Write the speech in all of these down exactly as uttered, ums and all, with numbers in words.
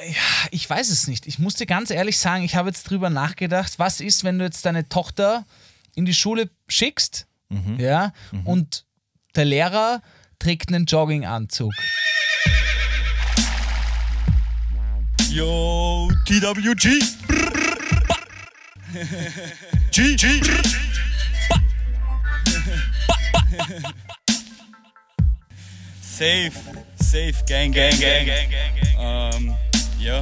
Ja, ich weiß es nicht. Ich muss dir ganz ehrlich sagen, ich habe jetzt drüber nachgedacht, was ist, wenn du jetzt deine Tochter in die Schule schickst, mhm. ja, mhm. und der Lehrer trägt einen Jogginganzug. Yo, T W G. G, G. Safe, safe, gang, gang, gang, gang, gang, gang. Um, ja.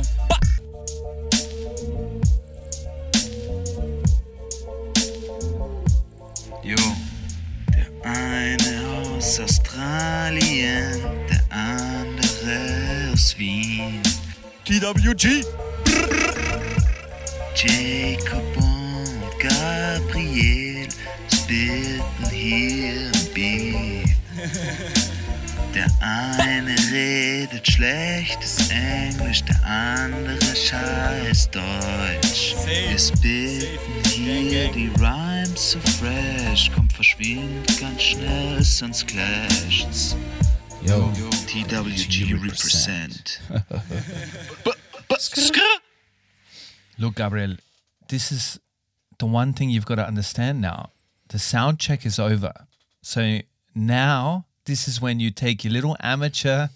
Jo, der eine aus Australien, der andere aus Wien. T W G. Jacob und Gabriel splitten hier im Beat. Der eine redet schlechtes Englisch, der andere scheiß Deutsch. Wir spitten hier die Rhymes so fresh, kommt verschwindet ganz schnell, sonst clasht's. Yo, T W G represent. Look, Gabriel, this is the one thing you've got to understand now. The sound check is over. So now this is when you take your little amateur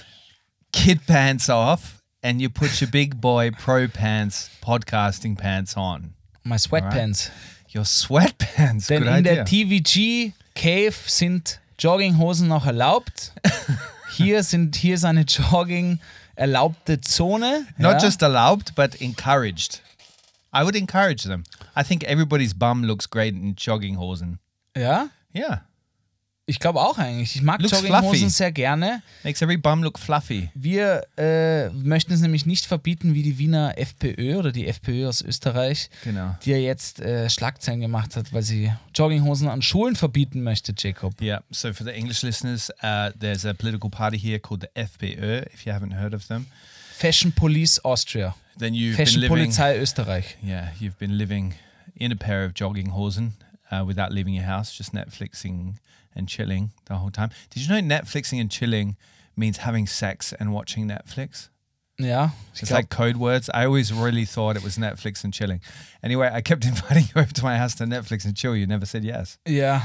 kid pants off and you put your big boy pro pants, podcasting pants on. My sweatpants. Right? Your sweatpants. Denn Good in idea. der T V G Cave sind Jogginghosen noch erlaubt. Hier sind hier ist eine Jogging erlaubte Zone. Not ja. just allowed, but encouraged. I would encourage them. I think everybody's bum looks great in Jogginghosen. Ja? Yeah. Ich glaube auch eigentlich. Ich mag Looks Jogginghosen fluffy. sehr gerne. Makes every bum look fluffy. Wir äh, möchten es nämlich nicht verbieten wie die Wiener FPÖ oder die FPÖ aus Österreich, Genau. die ja jetzt äh, Schlagzeilen gemacht hat, weil sie Jogginghosen an Schulen verbieten möchte, Jacob. Yeah, so for the English listeners, uh, there's a political party here called the F P Ö, if you haven't heard of them. Fashion Police Austria. Then you've Fashion been living, Polizei Österreich. yeah, you've been living in a pair of jogginghosen uh, without leaving your house, just Netflixing and chilling the whole time. Did you know Netflixing and chilling means having sex and watching Netflix? Ja, ich It's glaub, like code words. I always really thought it was Netflix and chilling. Anyway, I kept inviting you over to my house to Netflix and chill. You never said yes. ja.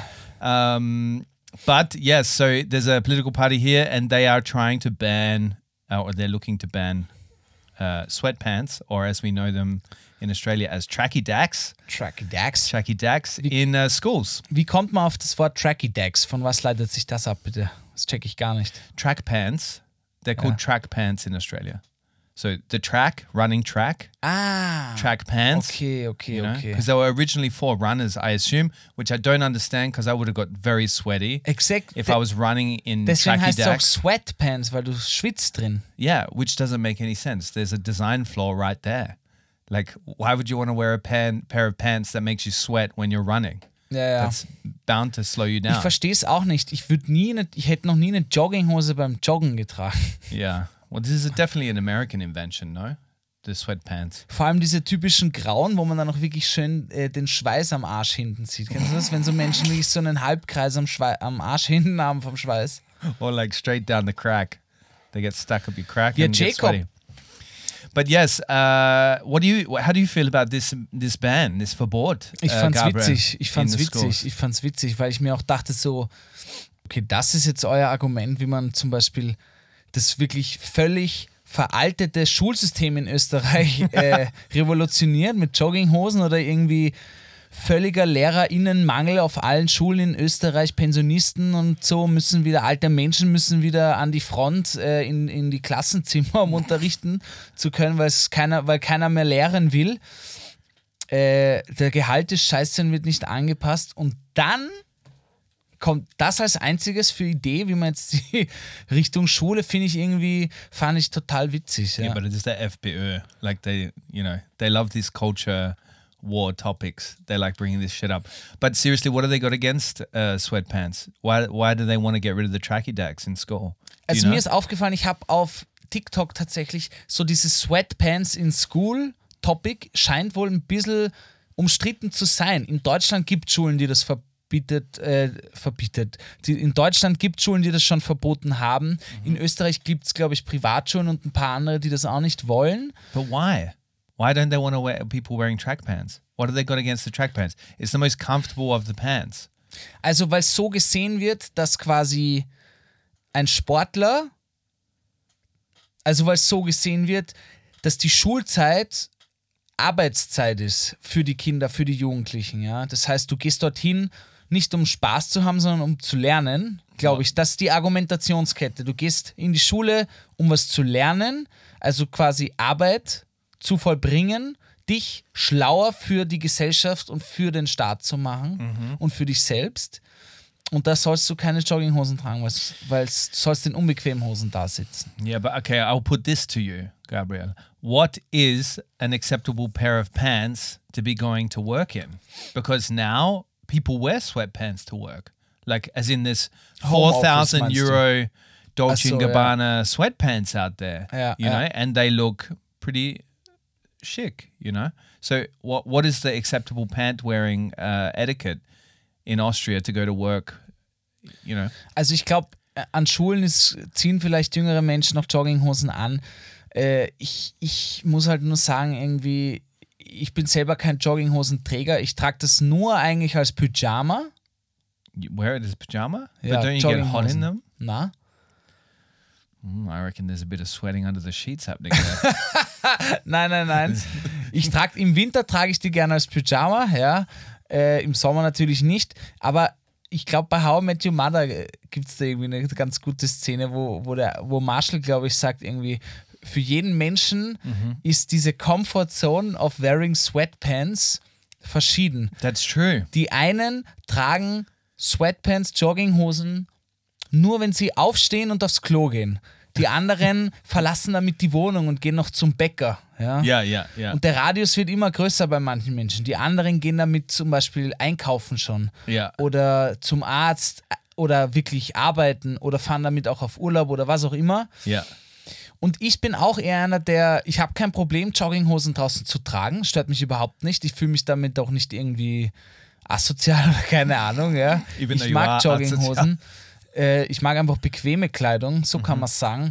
Um, but yes, so there's a political party here, and they are trying to ban, uh, or they're looking to ban, uh, sweatpants, or as we know them in Australia as tracky dacks, Tracky Dax. tracky dacks in uh, schools. Wie kommt man auf das Wort Tracky Dax? Von was leitet sich das ab, bitte? Das check ich gar nicht. Track pants, they're called Yeah. track pants in Australia. So the track, running track, Ah. track pants. Okay, okay, You know, okay. because they were originally for runners, I assume, which I don't understand because I would have got very sweaty Exakt. if I was running in Deswegen tracky heißt es auch dacks. Sweatpants, weil du schwitzt drin. Yeah, which doesn't make any sense. There's a design flaw right there. Like, why would you want to wear a pan, pair of pants that makes you sweat when you're running? Ja, ja. That's bound to slow you Ich down. verstehe es auch nicht. Ich würde nie, eine, ich hätte noch nie eine Jogginghose beim Joggen getragen. Yeah. Well, this is a, definitely an American invention, no? The sweatpants. Vor allem diese typischen grauen, wo man dann auch wirklich schön äh, den Schweiß am Arsch hinten sieht. Kennst du das? Wenn so Menschen wirklich so einen Halbkreis am, Schwei am Arsch hinten haben vom Schweiß. Or like straight down the crack. They get stuck up your crack Yeah, and get Jacob. sweaty. But yes, uh, what do you? How do you feel about this this ban, this Verbot? Ich uh, fand's Gabriel, witzig. Ich fand's in the witzig. schools? Ich fand's witzig, weil ich mir auch dachte so, okay, das ist jetzt euer Argument, wie man zum Beispiel das wirklich völlig veraltete Schulsystem in Österreich äh, revolutioniert mit Jogginghosen oder irgendwie völliger LehrerInnenmangel auf allen Schulen in Österreich. Pensionisten und so müssen wieder, alte Menschen müssen wieder an die Front äh, in, in die Klassenzimmer, um unterrichten zu können, weil es keiner, weil keiner mehr lehren will. Äh, der Gehalt des Scheiße wird nicht angepasst und dann kommt das als einziges für Idee, wie man jetzt die Richtung Schule, finde ich irgendwie, fand ich total witzig. Ja. Yeah, but it is the F P Ö. Like they, you know, they love these culture war topics. They like bringing this shit up. But seriously, what have they got against uh, sweatpants? Why, why do they want to get rid of the tracky dacks in school? Do Also you know? mir ist aufgefallen, ich habe auf TikTok tatsächlich so dieses Sweatpants in School Topic scheint wohl ein bisschen umstritten zu sein. In Deutschland gibt es Schulen, die das ver verbietet, äh, verbietet. Die, in Deutschland gibt es Schulen, die das schon verboten haben. Mhm. In Österreich gibt es, glaube ich, Privatschulen und ein paar andere, die das auch nicht wollen. But why? Why don't they want to wear people wearing track pants? What have they got against the track pants? It's the most comfortable of the pants. Also, weil es so gesehen wird, dass quasi ein Sportler, also weil es so gesehen wird, dass die Schulzeit Arbeitszeit ist für die Kinder, für die Jugendlichen. Ja? Das heißt, du gehst dorthin nicht um Spaß zu haben, sondern um zu lernen, glaube ich. Das ist die Argumentationskette. Du gehst in die Schule, um was zu lernen, also quasi Arbeit zu vollbringen, dich schlauer für die Gesellschaft und für den Staat zu machen mhm. und für dich selbst. Und da sollst du keine Jogginghosen tragen, weil du sollst in unbequemen Hosen da sitzen. Yeah, but okay, I'll put this to you, Gabriel. What is an acceptable pair of pants to be going to work in? Because now people wear sweatpants to work. Like, as in this four thousand Euro Dolce and Gabbana sweatpants out there, yeah, you yeah. know, and they look pretty chic, you know? So what what is the acceptable pant wearing uh, etiquette in Austria to go to work, you know? Also ich glaube, an Schulen ist, ziehen vielleicht jüngere Menschen noch Jogginghosen an. Äh, ich, ich muss halt nur sagen, irgendwie, ich bin selber kein Jogginghosenträger. Ich trage das nur eigentlich als Pyjama. You wear it as pyjama? Ja, But don't you get hot in them? Na? Mm, I reckon there's a bit of sweating under the sheets happening there. Nein, nein, nein. Ich trage, im Winter trage ich die gerne als Pyjama, ja. Äh, Im Sommer natürlich nicht. Aber ich glaube, bei How I Met Your Mother gibt es da irgendwie eine ganz gute Szene, wo, wo, der, wo Marshall, glaube ich, sagt irgendwie, für jeden Menschen mhm. ist diese Comfort Zone of wearing sweatpants verschieden. That's true. Die einen tragen Sweatpants, Jogginghosen, nur wenn sie aufstehen und aufs Klo gehen. Die anderen verlassen damit die Wohnung und gehen noch zum Bäcker. Ja, ja, ja, ja. Und der Radius wird immer größer bei manchen Menschen. Die anderen gehen damit zum Beispiel einkaufen schon. Ja. Oder zum Arzt oder wirklich arbeiten oder fahren damit auch auf Urlaub oder was auch immer. Ja. Und ich bin auch eher einer, der, ich habe kein Problem, Jogginghosen draußen zu tragen. Stört mich überhaupt nicht. Ich fühle mich damit auch nicht irgendwie asozial oder keine Ahnung. Ja. Ich mag Jogginghosen. Äh, ich mag einfach bequeme Kleidung, so mhm. kann man es sagen.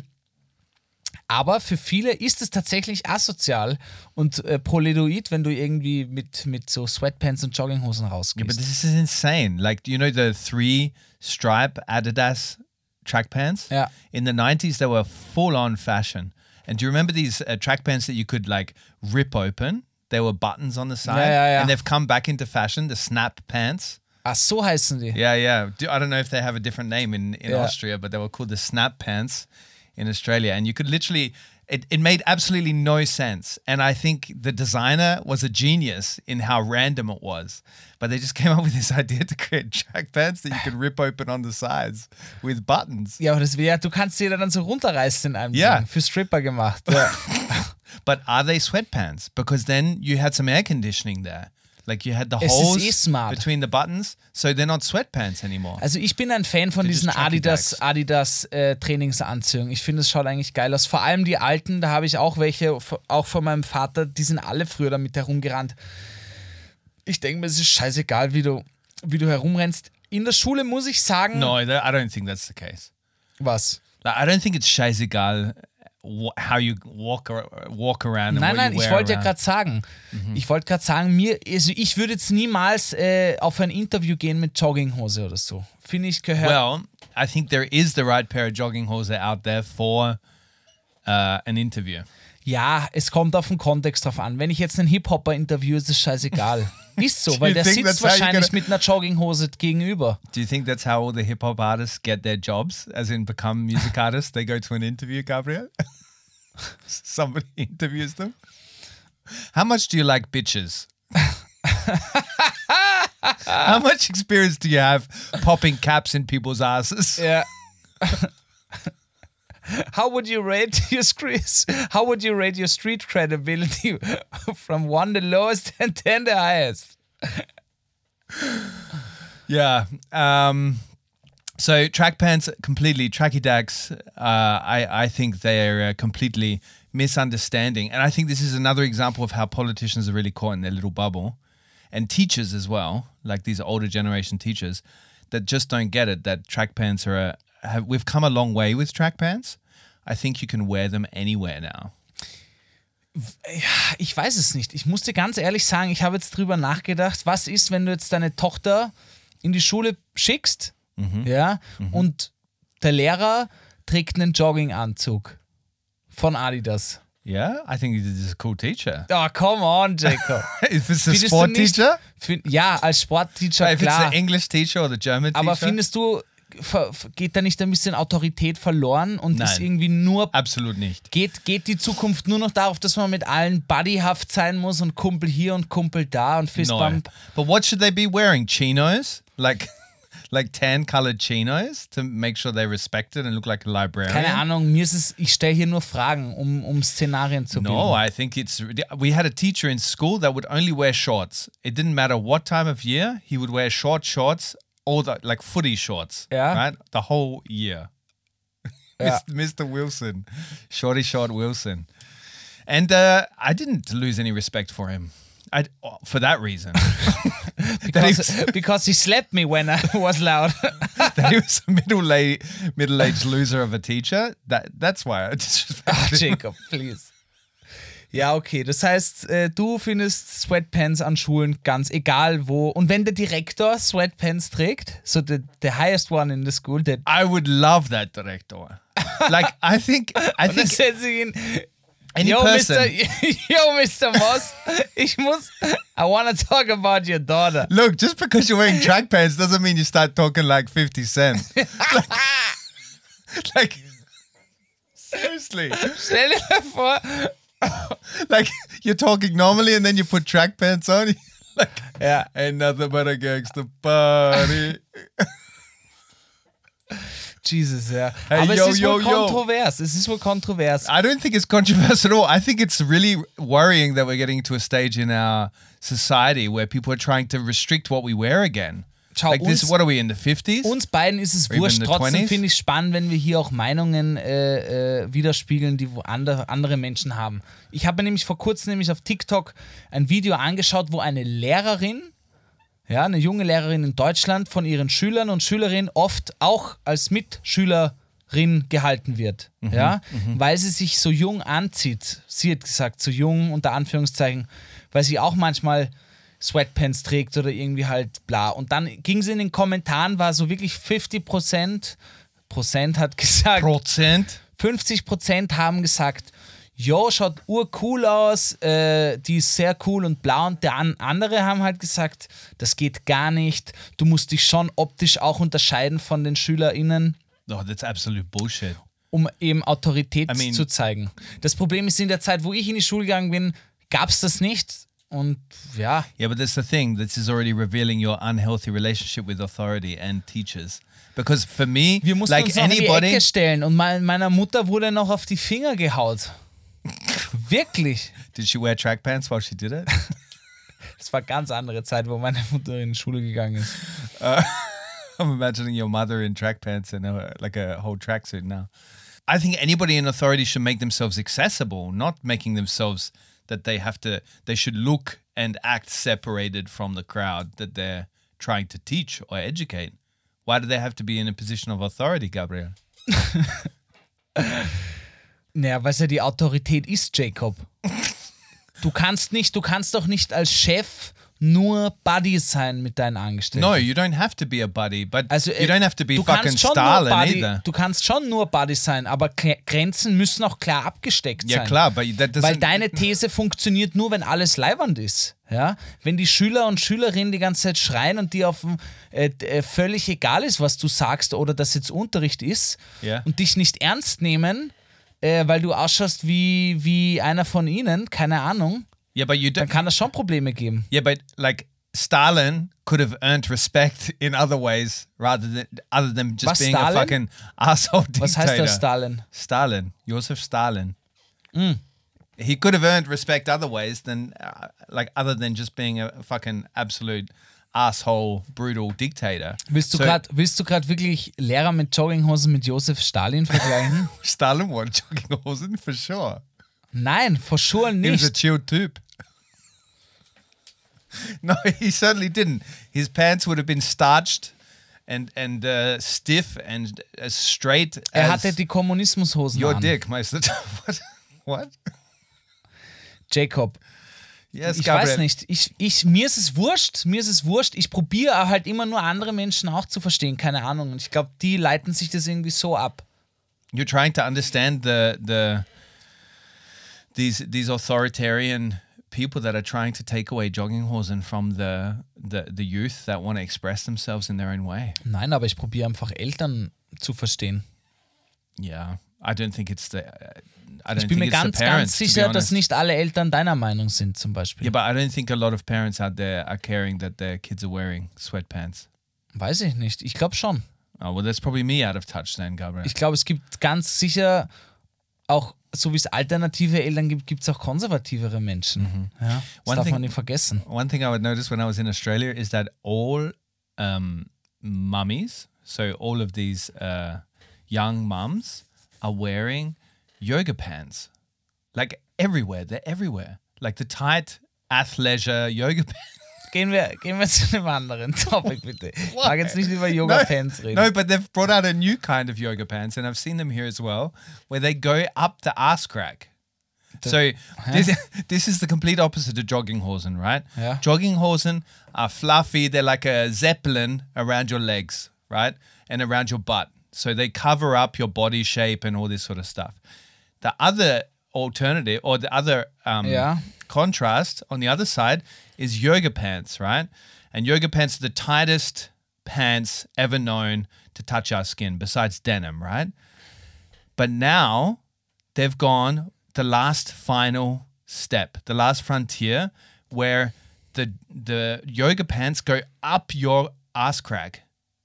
Aber für viele ist es tatsächlich asozial und äh, proledoid, wenn du irgendwie mit, mit so Sweatpants und Jogginghosen rausgehst. Yeah, but this is insane. Like, do you know the three-stripe Adidas track pants? Yeah. In the nineties, they were full-on fashion. And do you remember these uh, track pants that you could, like, rip open? There were buttons on the side. Yeah, yeah, yeah. And they've come back into fashion, the snap pants. Ach, so heißen die. Yeah, yeah. Do, I don't know if they have a different name in, in yeah. Austria, but they were called the snap pants in Australia. And you could literally, it, it made absolutely no sense. And I think the designer was a genius in how random it was. But they just came up with this idea to create track pants that you could rip open on the sides with buttons. Ja, aber das wäre, du kannst die dann so runterreißen in einem yeah. Ding. Für Stripper gemacht. Ja. But are they sweatpants? Because then you had some air conditioning there. Like you had the es holes eh smart. between the buttons, so they're not sweatpants anymore. Also ich bin ein Fan von They're diesen Adidas, Adidas äh, Trainingsanzügen. Ich finde, es schaut eigentlich geil aus. Vor allem die alten, da habe ich auch welche, auch von meinem Vater, die sind alle früher damit herumgerannt. Ich denke mir, es ist scheißegal, wie du, wie du herumrennst. In der Schule muss ich sagen... No, I don't think that's the case. Was? Like, I don't think it's scheißegal how you walk, walk around and nein, what nein, you wear ich wollte ja around. gerade sagen, mhm. ich wollte gerade sagen, mir, also ich würde jetzt niemals äh, auf ein Interview gehen mit Jogginghose oder so. Finde ich gehört. Well, I think there is the right pair of Jogginghose out there for uh, an interview. Ja, es kommt auf den Kontext drauf an. Wenn ich jetzt einen Hip-Hopper interviewe, ist es scheißegal. Ist so, weil der sitzt wahrscheinlich mit einer Jogginghose gegenüber. Do you think that's how all the hip-hop artists get their jobs, as in become music artists? They go to an interview, Gabriel? Somebody interviews them? How much do you like bitches? How much experience do you have popping caps in people's asses? Yeah. How would you rate your street? How would you rate your street credibility from one the lowest and ten the highest? Yeah. Um, so track pants completely tracky dags. Uh, I I think they are uh, completely misunderstanding, and I think this is another example of how politicians are really caught in their little bubble. and teachers as well, like these older generation teachers, that just don't get it. That track pants are a, have we've come a long way with track pants. I think you can wear them anywhere now. Ich weiß es nicht. Ich muss dir ganz ehrlich sagen, ich habe jetzt drüber nachgedacht, was ist, wenn du jetzt deine Tochter in die Schule schickst, mhm. ja, mhm. und der Lehrer trägt einen Jogginganzug von Adidas. Yeah, I think he's a cool teacher. Oh, come on, Jacob. If it's a sport teacher? Find, ja, als Sportteacher, if klar. If it's the English teacher or the German teacher? Aber findest du, geht da nicht ein bisschen Autorität verloren und Nein, ist irgendwie nur... absolut nicht. Geht, geht die Zukunft nur noch darauf, dass man mit allen buddyhaft sein muss und Kumpel hier und Kumpel da und Fistbump? No. But what should they be wearing? Chinos? Like... Like tan-colored chinos to make sure they're respected and look like a librarian? Keine Ahnung, mir ist es, ich stelle hier nur Fragen, um, um Szenarien zu bilden. No, I think it's, we had a teacher in school that would only wear shorts. It didn't matter what time of year, he would wear short shorts, or the, like footy shorts, yeah. right? The whole year. Yeah. Mister Wilson, shorty short Wilson. And uh, I didn't lose any respect for him. I, for that reason. because, because he slapped me when I was loud. That he was a middle-aged, middle-aged loser of a teacher. That, that's why I disrespected Ach, him. Jacob, please. Ja, okay. Das heißt, äh, du findest Sweatpants an Schulen ganz egal wo. Und wenn der Direktor Sweatpants trägt, so the, the highest one in the school, that I would love that director. Like, I think... I think ihn, any yo, person... Mister Yo, Mister Moss, ich muss... I want to talk about your daughter. Look, just because you're wearing track pants doesn't mean you start talking like fifty Cent. like, like, seriously. Stell dir vor... Like, you're talking normally and then you put track pants on. Like, yeah. Ain't nothing but a gangster party. Jesus, ja. Hey, Aber yo, es ist yo, wohl yo. kontrovers. Es ist wohl kontrovers. I don't think it's controversial at all. I think it's really worrying that we're getting to a stage in our society where people are trying to restrict what we wear again. Schau, like uns, this, what are we in the fifties? Uns beiden ist es Or wurscht. even the Trotzdem twenties? finde ich es spannend, wenn wir hier auch Meinungen äh, äh, widerspiegeln, die wo andere, andere Menschen haben. Ich habe mir nämlich vor kurzem nämlich auf TikTok ein Video angeschaut, wo eine Lehrerin, ja, eine junge Lehrerin in Deutschland, von ihren Schülern und Schülerinnen oft auch als Mitschülerin gehalten wird, Mhm, ja, weil sie sich so jung anzieht. Sie hat gesagt, so jung unter Anführungszeichen, weil sie auch manchmal Sweatpants trägt oder irgendwie halt bla. Und dann ging sie in den Kommentaren, war so wirklich fünfzig Prozent, Prozent hat gesagt, Prozent? fünfzig Prozent haben gesagt, jo, schaut urcool aus, äh, die ist sehr cool und bla. Und der an, andere haben halt gesagt, das geht gar nicht. Du musst dich schon optisch auch unterscheiden von den SchülerInnen. Oh, that's absolute bullshit. Um eben Autorität I mean, zu zeigen. Das Problem ist, in der Zeit, wo ich in die Schule gegangen bin, gab es das nicht. Und ja. Yeah, but that's the thing. This is already revealing your unhealthy relationship with authority and teachers. Because for me, wir mussten like uns noch in die anybody... Ecke stellen und mein, meiner Mutter wurde noch auf die Finger gehaut. Wirklich. Did she wear track pants while she did it? Das war eine ganz andere Zeit, wo meine Mutter in die Schule gegangen ist. Uh, I'm imagining your mother in track pants and a, like a whole tracksuit now. I think anybody in authority should make themselves accessible, not making themselves that they have to, they should look and act separated from the crowd that they're trying to teach or educate. Why do they have to be in a position of authority, Gabriel? Naja, weil es ja die Autorität ist, Jacob. Du kannst nicht, du kannst doch nicht als Chef nur Buddy sein mit deinen Angestellten. No, you don't have to be a buddy, but Also, you don't have to be du fucking kannst schon Stalin nur Buddy, either. Du kannst schon nur Buddy sein, aber K- Grenzen müssen auch klar abgesteckt Ja, sein. klar, but that doesn't... Weil deine These funktioniert nur, wenn alles leiwand ist. Ja? Wenn die Schüler und Schülerinnen die ganze Zeit schreien und dir auf dem, äh, äh, völlig egal ist, was du sagst oder dass jetzt Unterricht ist Ja. und dich nicht ernst nehmen, äh, weil du ausschaust wie, wie einer von ihnen, keine Ahnung, Yeah, but you dann don't... kann das schon Probleme geben. Yeah, but like Stalin could have earned respect in other ways rather than other than just Was, being Stalin? a fucking asshole dictator. Was heißt das, Stalin? Stalin, Joseph Stalin. Mm. He could have earned respect other ways than uh, like other than just being a fucking absolute asshole, brutal dictator. Willst du So- grad willst du gerade wirklich Lehrer mit Jogginghosen mit Josef Stalin vergleichen? Stalin wore jogginghosen for sure. Nein, for sure He was a nicht. chill type. No, he certainly didn't. His pants would have been starched and and uh, stiff and as straight Er as hatte die Kommunismushosen your an. dick, Meister. What? What? Jacob. Yes, Ich Gabriel. weiß nicht. Ich, ich, mir ist es wurscht. Mir ist es wurscht. Ich probiere halt immer nur andere Menschen auch zu verstehen. Keine Ahnung. Und ich glaube, die leiten sich das irgendwie so ab. You're trying to understand the the these these authoritarian people that are trying to take away jogginghosen from the the the youth that want to express themselves in their own way. Nein, aber ich probiere einfach Eltern zu verstehen. Yeah, I don't think it's the. I don't Ich bin think mir it's ganz, the parents. ganz to be sicher, dass honest. nicht alle Eltern deiner Meinung sind, zum Beispiel. Yeah, but I don't think a lot of parents out there are caring that their kids are wearing sweatpants. Weiß ich nicht. Ich glaube schon. Oh well, that's probably me out of touch then, Gabriel. Ich glaube, es gibt ganz sicher auch, so wie es alternative Eltern gibt, gibt es auch konservativere Menschen. Ja, das One darf thing- man nicht vergessen. One thing I would notice when I was in Australia is that all um, mummies, so all of these uh, young mums, are wearing yoga pants. Like everywhere. They're everywhere. Like the tight athleisure yoga pants. Gehen wir, gehen wir zu einem anderen Topic, bitte. Ich mag jetzt nicht über Yoga-Pants reden. No, but they've brought out a new kind of yoga pants, and I've seen them here as well, where they go up the ass crack. So this, this is the complete opposite of jogginghosen, right? Yeah. Jogginghosen are fluffy. They're like a zeppelin around your legs, right? And around your butt. So they cover up your body shape and all this sort of stuff. The other alternative or the other um, Yeah. contrast on the other side is yoga pants, right? And yoga pants are the tightest pants ever known to touch our skin besides denim, right? But now they've gone the last final step, the last frontier, where the the yoga pants go up your ass crack.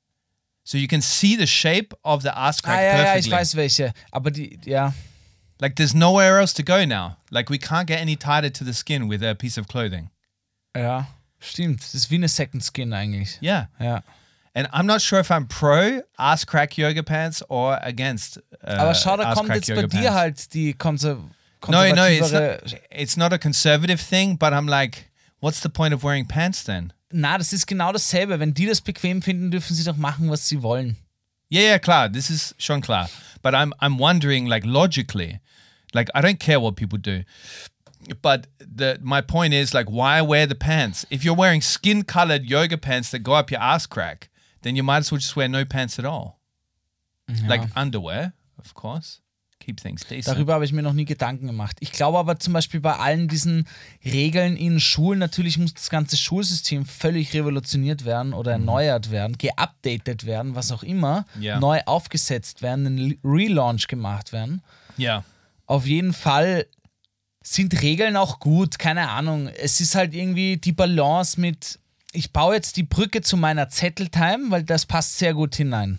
So you can see the shape of the ass crack Ah, ja, ja, perfectly. ich weiß welche. Aber die, ja. Like there's nowhere else to go now. Like we can't get any tighter to the skin with a piece of clothing. Ja, stimmt. Das ist wie eine Second Skin eigentlich. Yeah. Ja. And I'm not sure if I'm pro ass crack yoga pants or against uh, Aber schau, da ass kommt crack jetzt bei yoga dir pants. halt die konser No, no, it's konservativere... not, it's not a conservative thing, but I'm like, what's the point of wearing pants then? Na, das ist genau dasselbe. Wenn die das bequem finden, dürfen sie doch machen, was sie wollen. Yeah, yeah, klar, this is schon klar. But I'm I'm wondering, like, logically, like, I don't care what people do. But the my point is, like, why wear the pants? If you're wearing skin-colored yoga pants that go up your ass crack, then you might as well just wear no pants at all. Like underwear, of course. Keep things decent. Darüber habe ich mir noch nie Gedanken gemacht. Ich glaube aber zum Beispiel bei allen diesen Regeln in Schulen, natürlich muss das ganze Schulsystem völlig revolutioniert werden oder erneuert werden, geupdatet werden, was auch immer, Ja. neu aufgesetzt werden, ein Relaunch gemacht werden. Yeah. Auf jeden Fall sind Regeln auch gut, keine Ahnung. Es ist halt irgendwie die Balance mit, ich baue jetzt die Brücke zu meiner Zetteltime, weil das passt sehr gut hinein.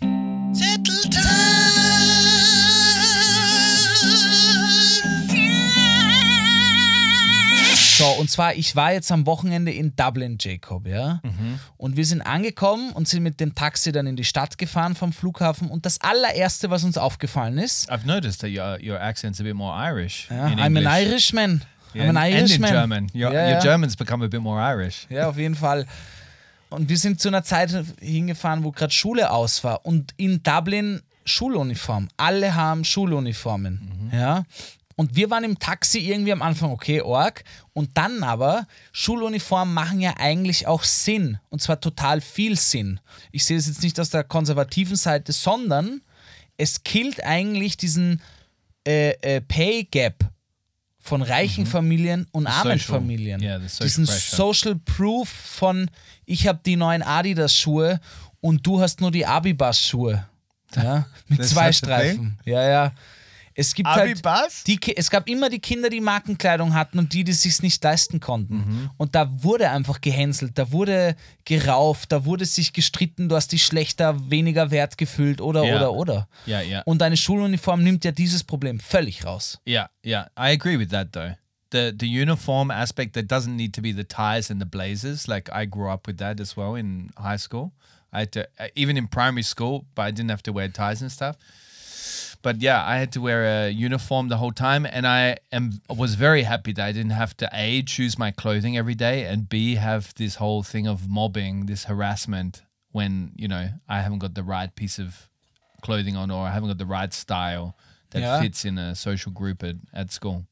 So, und zwar, ich war jetzt am Wochenende in Dublin, Jacob, ja. Und wir sind angekommen und sind mit dem Taxi dann in die Stadt gefahren vom Flughafen. Und das allererste, was uns aufgefallen ist, I've noticed that your your accent's a bit more Irish. ja, in I'm English. an Irishman. Yeah, I'm an and Irishman. in German. Your, Ja, your ja. German's become a bit more Irish. Ja, auf jeden Fall. Und wir sind zu einer Zeit hingefahren, wo gerade Schule aus war. Und in Dublin Schuluniform. Alle haben Schuluniformen. Ja. Und wir waren im Taxi irgendwie am Anfang, okay, Org. Und dann aber, Schuluniformen machen ja eigentlich auch Sinn. Und zwar total viel Sinn. Ich sehe es jetzt nicht aus der konservativen Seite, sondern es killt eigentlich diesen äh, äh, Pay Gap von reichen Familien und armen social- Familien. yeah, the social Diesen pressure. Social Proof von, ich habe die neuen Adidas-Schuhe und du hast nur die Abibas-Schuhe. Ja, mit That's zwei such a Streifen. Ja, ja. Es gibt Abibas? halt die, Ki- es gab immer die Kinder, die Markenkleidung hatten und die, die es sich nicht leisten konnten. Mhm. Und da wurde einfach gehänselt, da wurde gerauft, da wurde sich gestritten, du hast dich schlechter, weniger wert gefühlt oder, Ja. oder, oder. Yeah, yeah. Und eine Schuluniform nimmt ja dieses Problem völlig raus. Yeah, yeah, I agree with that though. The the uniform aspect, that doesn't need to be the ties and the blazers. Like I grew up with that as well in high school. I had to, uh, even in primary school, but I didn't have to wear ties and stuff. But yeah, I had to wear a uniform the whole time, and I am was very happy that I didn't have to A, choose my clothing every day, and B, have this whole thing of mobbing, this harassment when, you know, I haven't got the right piece of clothing on or I haven't got the right style that Ja. fits in a social group at, at school.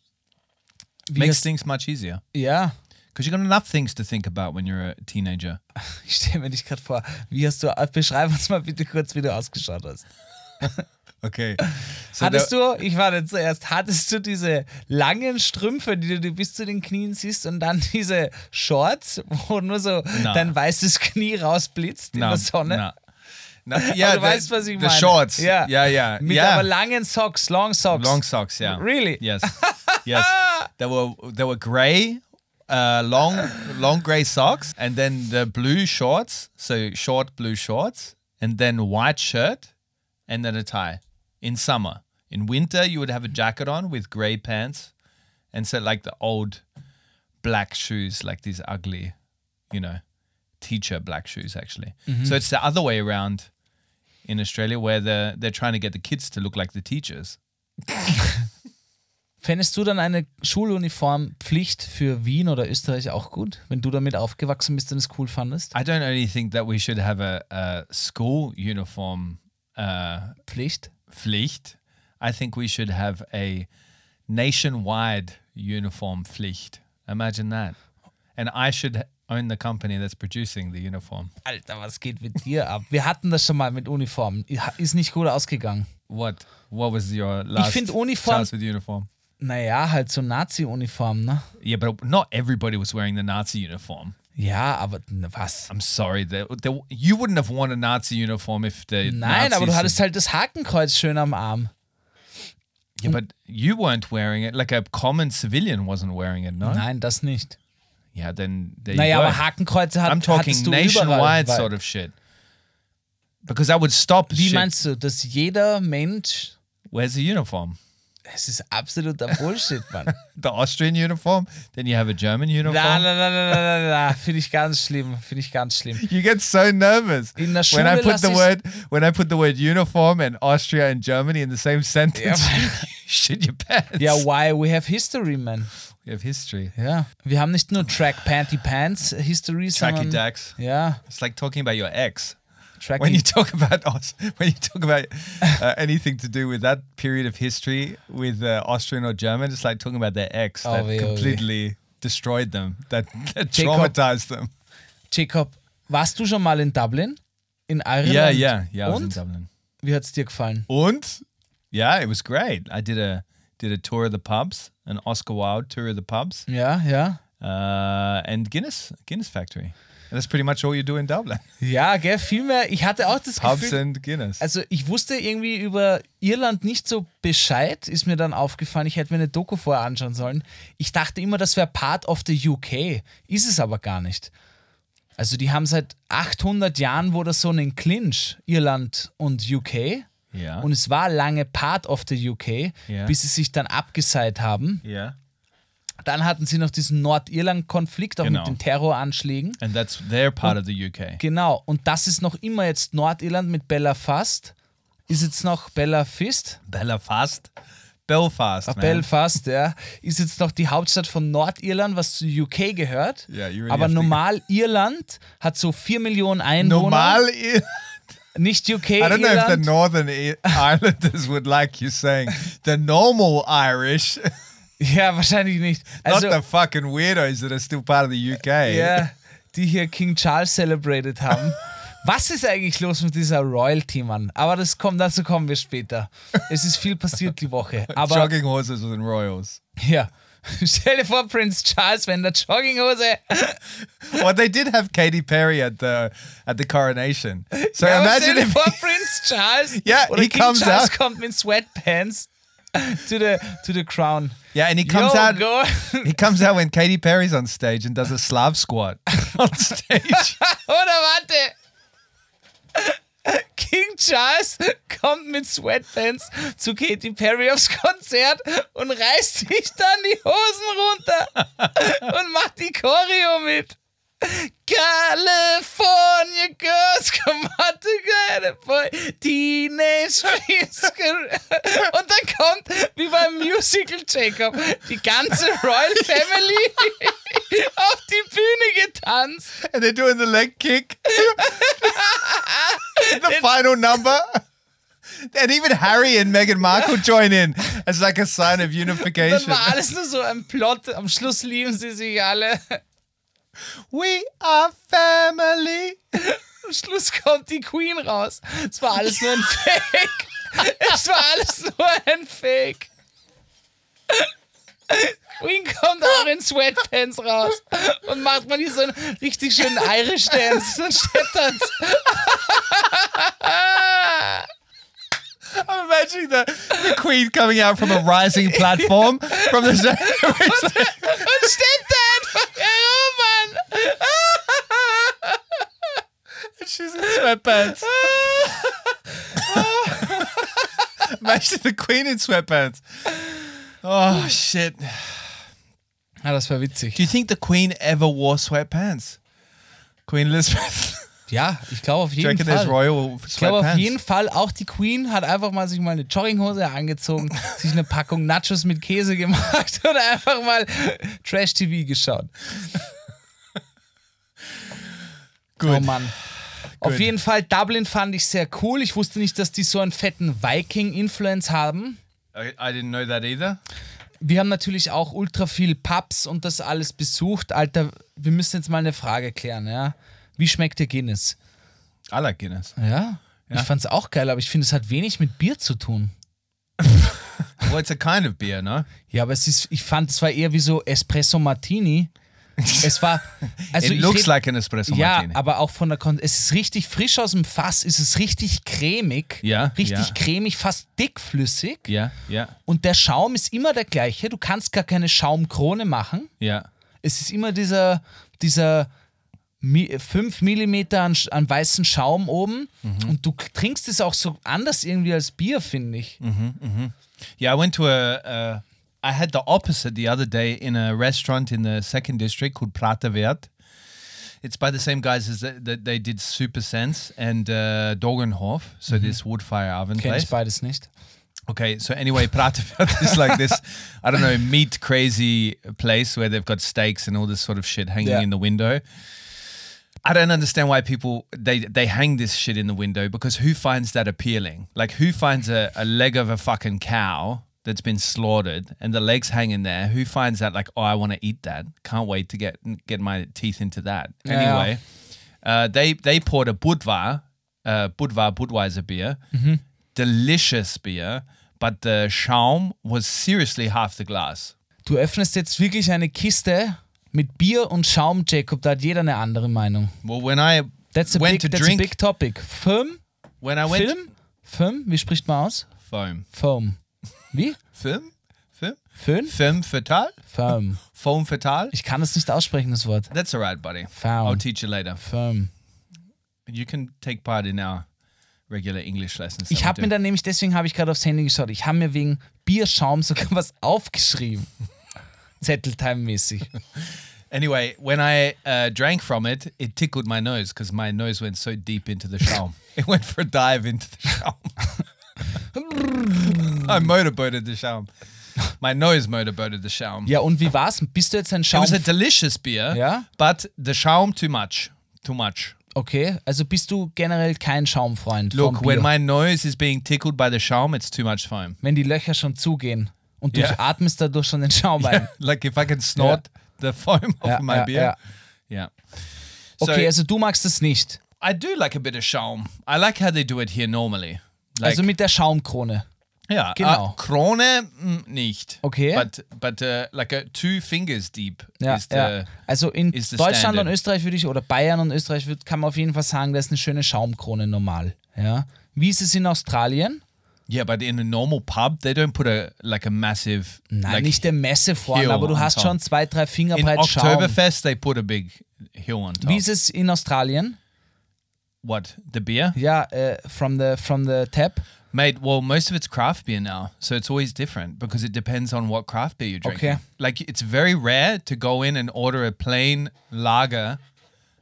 Wie Makes hast- things much easier. Ja, Because you got enough things to think about when you're a teenager. ich stelle mir dich gerade vor. Wie hast du, beschreib uns mal bitte kurz, wie du ausgeschaut hast. Okay. So Hattest du, ich war nicht zuerst, hattest du diese langen Strümpfe, die du dir bis zu den Knien siehst und dann diese Shorts, wo nur so Na. dein weißes Knie rausblitzt in der Sonne? No. No, yeah, Aber du the, weißt, was ich the meine. shorts. Ja. yeah, yeah. Mit yeah. aber langen Socks, Long Socks. Long socks, yeah. Really? Yes. Yes. They were they were grey, uh, long long grey socks, and then the blue shorts, so short blue shorts, and then white shirt, and then a tie. In summer. In winter, you would have a jacket on with grey pants, and so like the old black shoes, like these ugly, you know, teacher black shoes actually. So it's the other way around in Australia, where the they're trying to get the kids to look like the teachers. Fändest du dann eine Schuluniformpflicht für Wien oder Österreich auch gut, wenn du damit aufgewachsen bist und es cool fandest? I don't only think that we should have a, a school uniform uh, Pflicht? Pflicht. I think we should have a nationwide uniform Pflicht. Imagine that. And I should own the company that's producing the uniform. Alter, was geht mit dir ab? Wir hatten das schon mal mit Uniformen. Ist nicht gut ausgegangen. What? What was your last find Uniform- chance with uniform? Naja, halt so Nazi-Uniformen, ne? Yeah, but not everybody was wearing the Nazi uniform. Ja, aber na, was? I'm sorry, the, the, you wouldn't have worn a Nazi uniform if the Nein, Nazis aber du hattest halt das Hakenkreuz schön am Arm. Yeah, but you weren't wearing it. Like a common civilian wasn't wearing it, no? Nein, das nicht. Yeah, then there Naja, you go. aber Hakenkreuze hat, I'm talking hattest du nationwide überall. Weil, sort of shit. Because that would stop wie shit. meinst du, dass jeder Mensch... Where's the uniform? Es ist absoluter Bullshit, Mann. The Austrian uniform? Then you have a German uniform? Na, na, na, na, na, na, na. Finde ich ganz schlimm. Finde ich ganz schlimm. You get so nervous In der when I Schule put lass the ich's- word when I put the word uniform and Austria and Germany in the same sentence. Ja, you shit your pants. Ja, why? We have history, man. We have history. Ja. Wir haben nicht nur Track Panty Pants History, Tracky sondern... Dax. Ja, It's like talking about your ex. Tracky. When you talk about Aus- when you talk about uh, anything to do with that period of history with uh, Austrian or German, it's like talking about their ex Oh, that weh, oh, weh. completely destroyed them, that, that Jacob. traumatized them. Jacob, warst du schon mal in Dublin? In Ireland? Yeah, yeah, yeah. I was in Und? Dublin. Wie hat's dir gefallen? Und yeah, it was great. I did a did a tour of the pubs, an Oscar Wilde tour of the pubs, Ja, ja. uh, and Guinness Guinness Factory. And that's pretty much all you do in Dublin. Ja, gell, viel mehr. Ich hatte auch das Pubs Gefühl... and Guinness. Also ich wusste irgendwie über Irland nicht so Bescheid, ist mir dann aufgefallen, ich hätte mir eine Doku vorher anschauen sollen. Ich dachte immer, das wäre Part of the U K, ist es aber gar nicht. Also die haben seit achthundert Jahren wo das so einen Clinch, Irland und U K. Ja. Und es war lange Part of the U K, Ja. bis sie sich dann abgeseit haben. Yeah. Dann hatten sie noch diesen Nordirland-Konflikt, auch Genau. mit den Terroranschlägen. And that's their part of the U K. Genau, und das ist noch immer jetzt Nordirland mit Belfast. Ist jetzt noch Belfast? Belfast. Belfast, man. Belfast, ja. Ist jetzt noch die Hauptstadt von Nordirland, was zu U K gehört. Yeah, you really Aber have to- normal Irland hat so vier Millionen Einwohner. Normal. I Nicht U K, don't know if the Irland. Northern I- Islanders would like you saying the normal Irish, Ja, wahrscheinlich nicht. Also, not the fucking weirdos that are still part of the U K. ja, die hier King Charles celebrated haben. Was ist eigentlich los mit dieser Royalty, Mann? Aber das kommt, dazu kommen wir später. Es ist viel passiert die Woche. Aber Jogging horses and royals. ja, stell dir vor, Prince Charles, wenn der Jogginghose. Well, they did have Katy Perry at the at the coronation. So Ja, aber imagine stell dir if vor, Prince Charles Yeah, oder he King comes Charles out. kommt mit Sweatpants to the to the crown. yeah, and he comes Yo, out. go. He comes out when Katy Perry's on stage and does a Slav squat on stage. Oder warte. King Charles kommt mit Sweatpants zu Katy Perry aufs Konzert und reißt sich dann die Hosen runter und macht die Choreo mit. California girls come out together for teenage dreams. Und dann kommt, wie beim Musical Jacob, die ganze Royal Family auf die Bühne getanzt. And they're doing the leg kick. The final number. And even Harry and Meghan Markle join in as like a sign of Dann unification. war alles nur so ein Plot. Am Schluss lieben sie sich alle. We are family. Am Schluss kommt die Queen raus. Es war alles nur ein Fake. Es war alles nur ein Fake. Queen kommt auch in Sweatpants raus und macht mal hier so einen richtig schönen Irish Dance, so einen Stepptanz. I'm imagining the, the Queen coming out from a rising platform from the Und steppt einfach herum, Mann. she's in sweatpants. Imagine the Queen in sweatpants. Oh shit. Ja, das war witzig. Do you think the Queen ever wore sweatpants? Queen Elizabeth. Ja, ich glaube auf Do you jeden reckon there's Fall. royal Ich glaube auf sweatpants? jeden Fall, auch die Queen hat einfach mal sich mal eine Jogginghose angezogen, sich eine Packung Nachos mit Käse gemacht und einfach mal Trash-T V geschaut. Gut. Oh Mann. Auf jeden Fall, Dublin fand ich sehr cool. Ich wusste nicht, dass die so einen fetten Viking-Influence haben. I, I didn't know that either. Wir haben natürlich auch ultra viel Pubs und das alles besucht. Alter, wir müssen jetzt mal eine Frage klären, ja? Wie schmeckt dir Guinness? I like Guinness. Ja? Ich fand's auch geil, aber ich finde, es hat wenig mit Bier zu tun. Well, it's a kind of beer, no? Ja, aber es ist, ich fand, es war eher wie so Espresso Martini. Es war, also It ich looks red- like an espresso ja, martini. aber auch von der Kon es ist richtig frisch aus dem Fass, es ist richtig cremig, Ja, richtig ja. cremig, fast dickflüssig. Yeah, yeah, Und der Schaum ist immer der gleiche. Du kannst gar keine Schaumkrone machen. yeah. Es ist immer dieser, dieser fünf Millimeter an, an weißen Schaum oben. Mhm. Und du trinkst es auch so anders irgendwie als Bier, finde ich. Yeah, I went to a. Uh, I had the opposite the other day in a restaurant in the second district called Prata Vert. It's by the same guys as that the, they did Super Sense and uh, Dogenhof, so this wood fire oven Kenn place. ich beides nicht. Okay, so anyway, Prata Vert is like this, I don't know, meat crazy place where they've got steaks and all this sort of shit hanging Yeah. in the window. I don't understand why people they they hang this shit in the window, because who finds that appealing? Like, who finds a, a leg of a fucking cow that's been slaughtered and the legs hanging there? Who finds that like, oh, I want to eat that? Can't wait to get get my teeth into that. Yeah. Anyway, uh, they they poured a Budvar, uh, Budvar Budweiser beer, delicious beer, but the Schaum was seriously half the glass. Du öffnest jetzt wirklich eine Kiste mit Bier und Schaum, Jacob. Da hat jeder eine andere Meinung. Well, when I That's a, went big, to that's drink, a big topic. Film? when I went Film? Film? Wie spricht man aus? foam, Foam. Wie? film, film, Föhn? femme fatale, Foam. foam fatale. Ich kann es nicht aussprechen, das Wort. That's all right, buddy. Foam. I'll teach you later. Foam. You can take part in our regular English lessons. Ich that we habe do. mir dann nämlich, deswegen habe ich gerade aufs Handy geschaut, ich habe mir wegen Bierschaum sogar was aufgeschrieben. Zetteltime-mäßig. Anyway, when I uh, drank from it, it tickled my nose because my nose went so deep into the Schaum. It went for a dive into the Schaum. I motorboated the Schaum. My nose motorboated the Schaum. Ja, und wie war's? Bist du jetzt ein It Schaum... was a delicious beer, Yeah? but the Schaum too much. Too much. Okay, also bist du generell kein Schaumfreund Look, vom Bier. when my nose is being tickled by the Schaum, it's too much foam. Wenn die Löcher schon zugehen und du Ja. atmest dadurch schon den Schaum ein. Like if I can snort the foam off Ja, of my ja, beer. ja. Yeah. Okay, So- also du magst es nicht. I do like a bit of Schaum. I like how they do it here normally. Like, Also mit der Schaumkrone. ja, genau. uh, Krone mm, nicht. Okay. But but uh, like a two fingers deep Ja, is the ja. Also in is the Deutschland standard. und Österreich würde ich, oder Bayern und Österreich würd, kann man auf jeden Fall sagen, da ist eine schöne Schaumkrone normal. Ja. Wie ist es in Australien? Yeah, but in a normal pub they don't put a like a massive Nein, like nicht der Messe vorne, hill aber du on hast top. schon zwei, drei Finger in breit Schaum. Oktoberfest they put a big hill on top. Wie ist es in Australien? What, the beer? Ja, äh, from the from the tap. Mate, well, most of it's craft beer now, so it's always different because it depends on what craft beer you're drinking. Okay. Like, it's very rare to go in and order a plain lager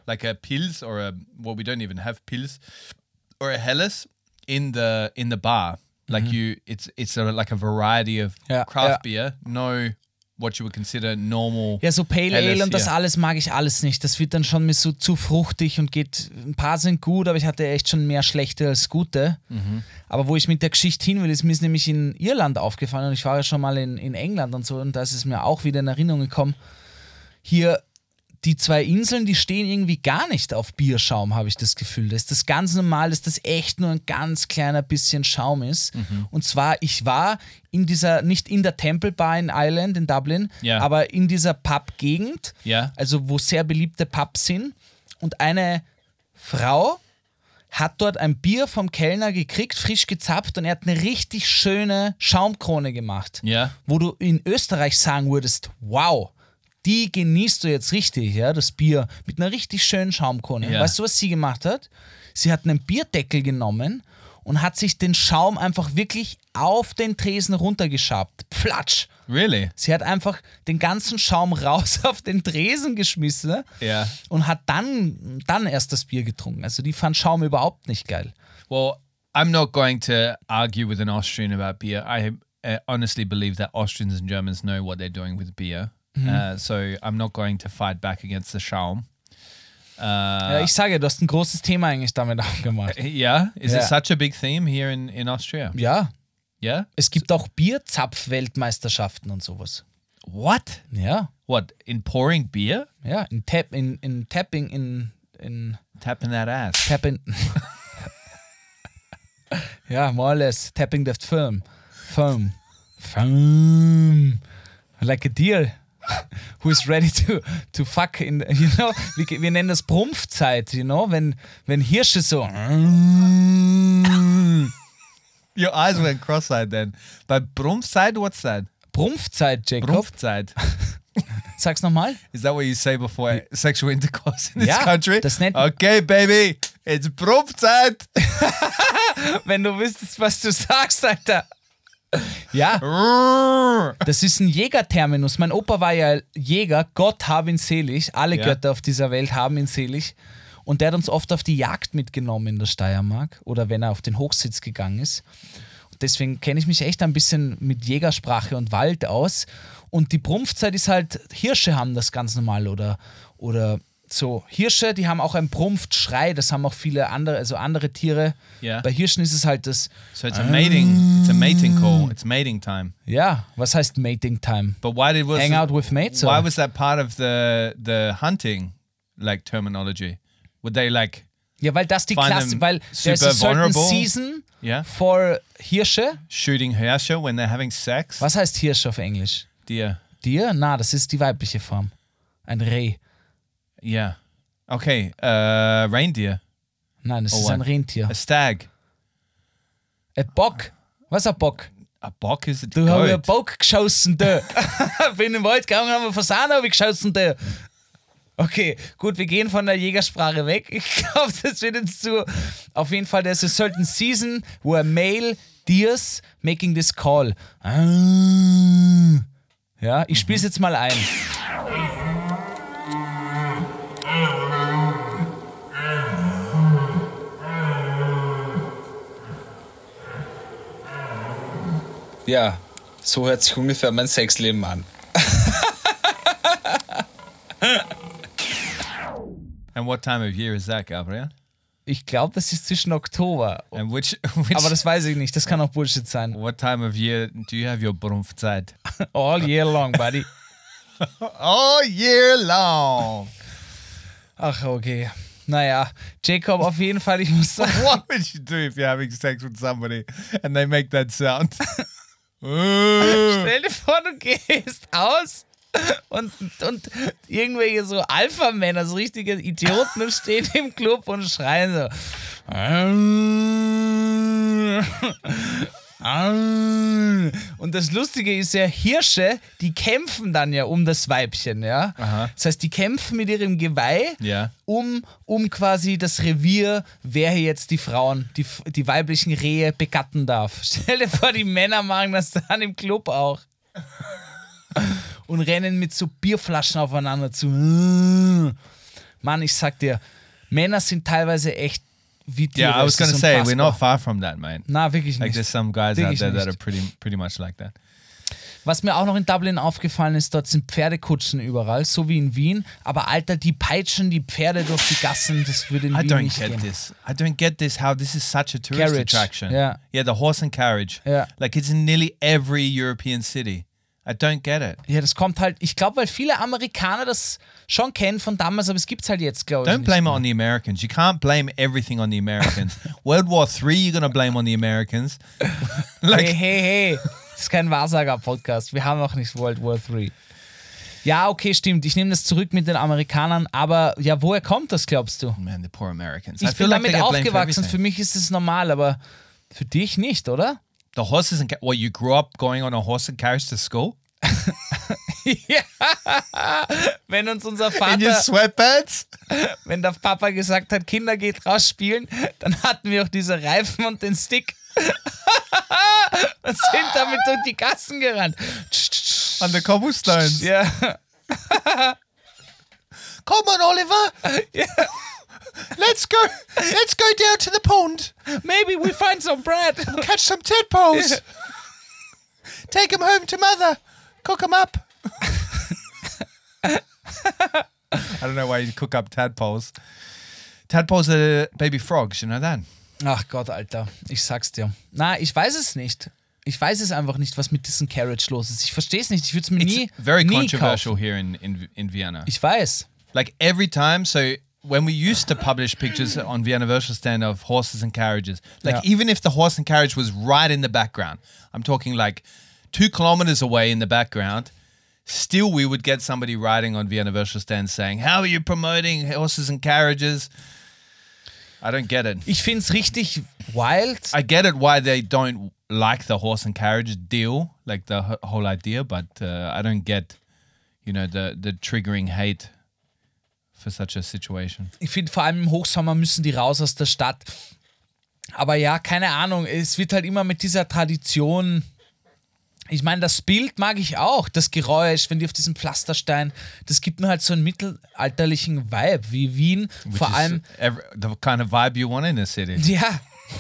like a Pils or a well, we don't even have Pils or a Helles in the in the bar. Like you, it's it's a, like a variety of Ja, craft ja. beer. No, what you would consider normal. Ja, so Pale Helles, Ale und das ja. alles mag ich alles nicht. Das wird dann schon mir so zu fruchtig und geht, ein paar sind gut, aber ich hatte echt schon mehr schlechte als gute. Mhm. Aber wo ich mit der Geschichte hin will, ist mir ist nämlich in Irland aufgefallen und ich war ja schon mal in, in England und so und da ist es mir auch wieder in Erinnerung gekommen. Hier die zwei Inseln, die stehen irgendwie gar nicht auf Bierschaum, habe ich das Gefühl. Das ist das ganz normal, dass das echt nur ein ganz kleiner bisschen Schaum ist. Mhm. Und zwar, ich war in dieser, nicht in der Temple Bar in Ireland, in Dublin, Ja. aber in dieser Pub-Gegend, Ja. also wo sehr beliebte Pubs sind. Und eine Frau hat dort ein Bier vom Kellner gekriegt, frisch gezapft und er hat eine richtig schöne Schaumkrone gemacht. Ja. Wo du in Österreich sagen würdest, wow, die genießt du jetzt richtig, ja, das Bier mit einer richtig schönen Schaumkrone. Ja. Weißt du, was sie gemacht hat? Sie hat einen Bierdeckel genommen und hat sich den Schaum einfach wirklich auf den Tresen runtergeschabt. Pflatsch! Really? Sie hat einfach den ganzen Schaum raus auf den Tresen geschmissen Ja. und hat dann, dann erst das Bier getrunken. Also die fand Schaum überhaupt nicht geil. Well, I'm not going to argue with an Austrian about beer. I uh, honestly believe that Austrians and Germans know what they're doing with beer. Uh, so I'm not going to fight back against the Schaum. Ja, ich sage, du hast ein großes Thema eigentlich damit aufgemacht. Yeah, is Yeah. it such a big theme here in, in Austria? Ja, Yeah. es gibt auch Bierzapf-Weltmeisterschaften und sowas. What? Ja, What, in pouring beer? ja, in, Tap, in, in Tapping, in, in Tapping that ass. Tapping. Ja, more or less. Tapping the foam. Foam. Foam. Like a deer who is ready to, to fuck in, you know, wir, wir nennen das Brumpfzeit, you know, wenn, wenn Hirsche so Your eyes went cross-eyed then. But Brumpfzeit, what's that? Brumpfzeit, Jacob. Brumpfzeit. Sag's nochmal. Is that what you say before sexual intercourse in this Ja, country? das nennt- Okay, baby, it's Brumpfzeit. Wenn du wüsstest, was du sagst, Alter. Ja, Rrrr. das ist ein Jägerterminus. Mein Opa war ja Jäger, Gott hab ihn selig. Alle Ja. Götter auf dieser Welt haben ihn selig. Und der hat uns oft auf die Jagd mitgenommen in der Steiermark oder wenn er auf den Hochsitz gegangen ist. Und deswegen kenne ich mich echt ein bisschen mit Jägersprache und Wald aus. Und die Brumpfzeit ist halt, Hirsche haben das ganz normal oder, oder so. Hirsche, die haben auch einen Brumpfschrei, das haben auch viele andere, also andere Tiere. Ja. Bei Hirschen ist es halt das, So it's a mating, it's a mating call. It's mating time. ja, was heißt Mating Time? But why did was Hang out with mates, Why or- was that part of the the hunting like terminology? Would they like Ja, weil das die Find Klasse, them weil there's super a certain vulnerable. season yeah for Hirsche. shooting Hirsche when they're having sex? Was heißt Hirsch auf Englisch? Deer. Deer? Na, das ist die weibliche Form. Ein Reh. Yeah. Okay. Uh, reindeer. Nein, das Oh, ist ein what? Rentier. A stag. Ein Bock. Was ist ein Bock? A bock is a Du hast einen goat. Bock geschossen, da. Bin im Wald gegangen, haben wir Fasan habe ich geschossen, da. Okay, gut, wir gehen von der Jägersprache weg. Ich glaube, das wird jetzt zu. Auf jeden Fall, there's a certain season where male deers making this call. Ah. Ja, ich spiele es jetzt mal ein. Ja, so hört sich ungefähr mein Sexleben an. And what time of year is that, Gabriel? Ich glaube, das ist zwischen Oktober. And which which Aber das weiß ich nicht, das kann auch Bullshit sein. what time of year do you have your Brumpfzeit? All year long, buddy. All year long. Ach, okay. Naja, Jacob, auf jeden Fall, ich muss sagen, What would you do if you're having sex with somebody and they make that sound? Uh. stell dir vor, du gehst aus und, und irgendwelche so Alpha-Männer, so richtige Idioten, und stehen im Club und schreien so. Und das Lustige ist ja, Hirsche, die kämpfen dann ja um das Weibchen, ja. Aha. Das heißt, die kämpfen mit ihrem Geweih Ja. um, um quasi das Revier, wer hier jetzt die Frauen, die, die weiblichen Rehe begatten darf. Stell dir vor, die Männer machen das dann im Club auch. Und rennen mit so Bierflaschen aufeinander zu. Mann, ich sag dir, Männer sind teilweise echt wie Tiere. Yeah, I was Es ist going to say, we're unfassbar. not far from that, mate. Na, wirklich Like nicht. there's some guys Wirklich out there that nicht. are pretty pretty much like that. Was mir auch noch in Dublin aufgefallen ist, dort sind Pferdekutschen überall, so wie in Wien. Aber Alter, die peitschen die Pferde durch die Gassen, das würde in I Wien don't nicht get gehen. this. I don't get this. How this is such a tourist Carriage, attraction. yeah. yeah, the horse and carriage. Yeah. Like it's in nearly every European city. I don't get it. Ja, das kommt halt, ich glaube, weil viele Amerikaner das schon kennen von damals, aber es gibt es halt jetzt, glaube ich. Don't nicht blame it mehr. on the Americans. You can't blame everything on the Americans. World War Three, you're gonna blame on the Americans. like Hey, hey, hey, das ist kein Wahrsager-Podcast. Wir haben noch nicht World War Three. Ja, okay, stimmt. Ich nehme das zurück mit den Amerikanern, aber ja, woher kommt das, glaubst du? man, the poor Americans. I Ich feel bin like they damit get blamed for aufgewachsen, für everything. mich ist es normal, aber für dich nicht, oder? The horses and ca- what you grew up going on a horse and carriage to school Ja, wenn uns unser in your Vater, sweatpants. wenn der Papa gesagt hat, Kinder geht raus spielen, dann hatten wir auch diese Reifen und den Stick und sind damit durch die Gassen gerannt. On the cobblestones. Ja, Come on, Oliver. Let's go. Let's go down to the pond. maybe we find some bread. Catch some tadpoles. Take them home to mother. Cook them up. I don't know why you cook up tadpoles. Tadpoles are baby frogs, you know that? Ach Gott, Alter, ich sag's dir. Na, ich weiß es nicht. Ich weiß es einfach nicht, was mit diesem Carriage los ist. Ich verstehe es nicht. Ich würde es mir It's nie, very nie controversial kaufen. here in, in, in Vienna. Ich weiß. Like every time, so when we used to publish pictures on Vienna Virtual Stand of horses and carriages, like Yeah. even if the horse and carriage was right in the background, I'm talking like two kilometers away in the background, still we would get somebody writing on Vienna Virtual Stand saying, how are you promoting horses and carriages? I don't get it. Ich find's richtig wild. I get it why they don't like the horse and carriage deal, like the h- whole idea, but uh, I don't get, you know, the, the triggering hate for such a situation. Ich finde, vor allem im Hochsommer müssen die raus aus der Stadt. Aber ja, keine Ahnung. Es wird halt immer mit dieser Tradition. Ich meine, das Bild mag ich auch. Das Geräusch, wenn die auf diesem Pflasterstein. Das gibt mir halt so einen mittelalterlichen Vibe, wie Wien. Which Vor is allem, every, the kind of vibe you want in a city. ja.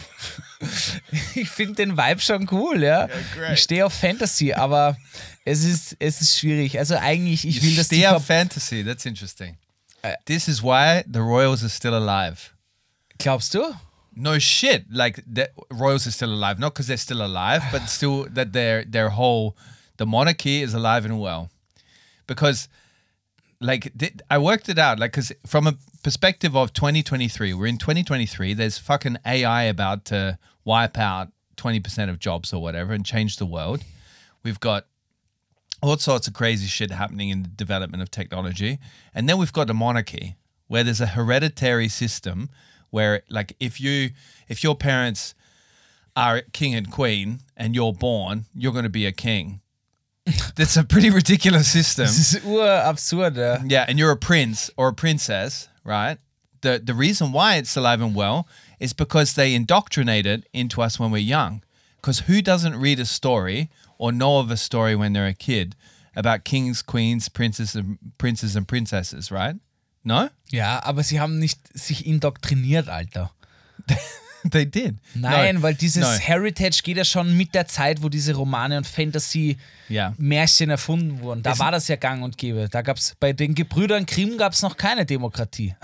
Ich finde den Vibe schon cool, ja. great. Ich stehe auf Fantasy, aber es ist, es ist schwierig. Also eigentlich, ich will, You dass die stay ver- up fantasy. That's interesting. This is why the royals are still alive. Glaubst du? No shit. Like the royals are still alive, not because they're still alive, but still that their their whole the monarchy is alive and well. Because like th- I worked it out. Like because from a perspective of twenty twenty-three, we're in twenty twenty-three. There's fucking A I about to wipe out twenty percent of jobs or whatever and change the world. We've got all sorts of crazy shit happening in the development of technology. And then we've got a monarchy where there's a hereditary system where like if you if your parents are king and queen and you're born, you're going to be a king. That's a pretty ridiculous system. Das ist urabsurd, ja. Yeah, and you're a prince or a princess, right? The the reason why it's alive and well is because they indoctrinate it into us when we're young. Because who doesn't read a story or know of a story when they're a kid about kings, queens, princes and princes and princesses, right? No? Ja, aber sie haben nicht sich indoktriniert, Alter. They did. Nein, No, weil dieses no. Heritage geht ja schon mit der Zeit, wo diese Romane und Fantasy-Märchen Ja. erfunden wurden. Da Es- war das ja gang und gäbe. Da gab's bei den Gebrüdern Grimm gab es noch keine Demokratie.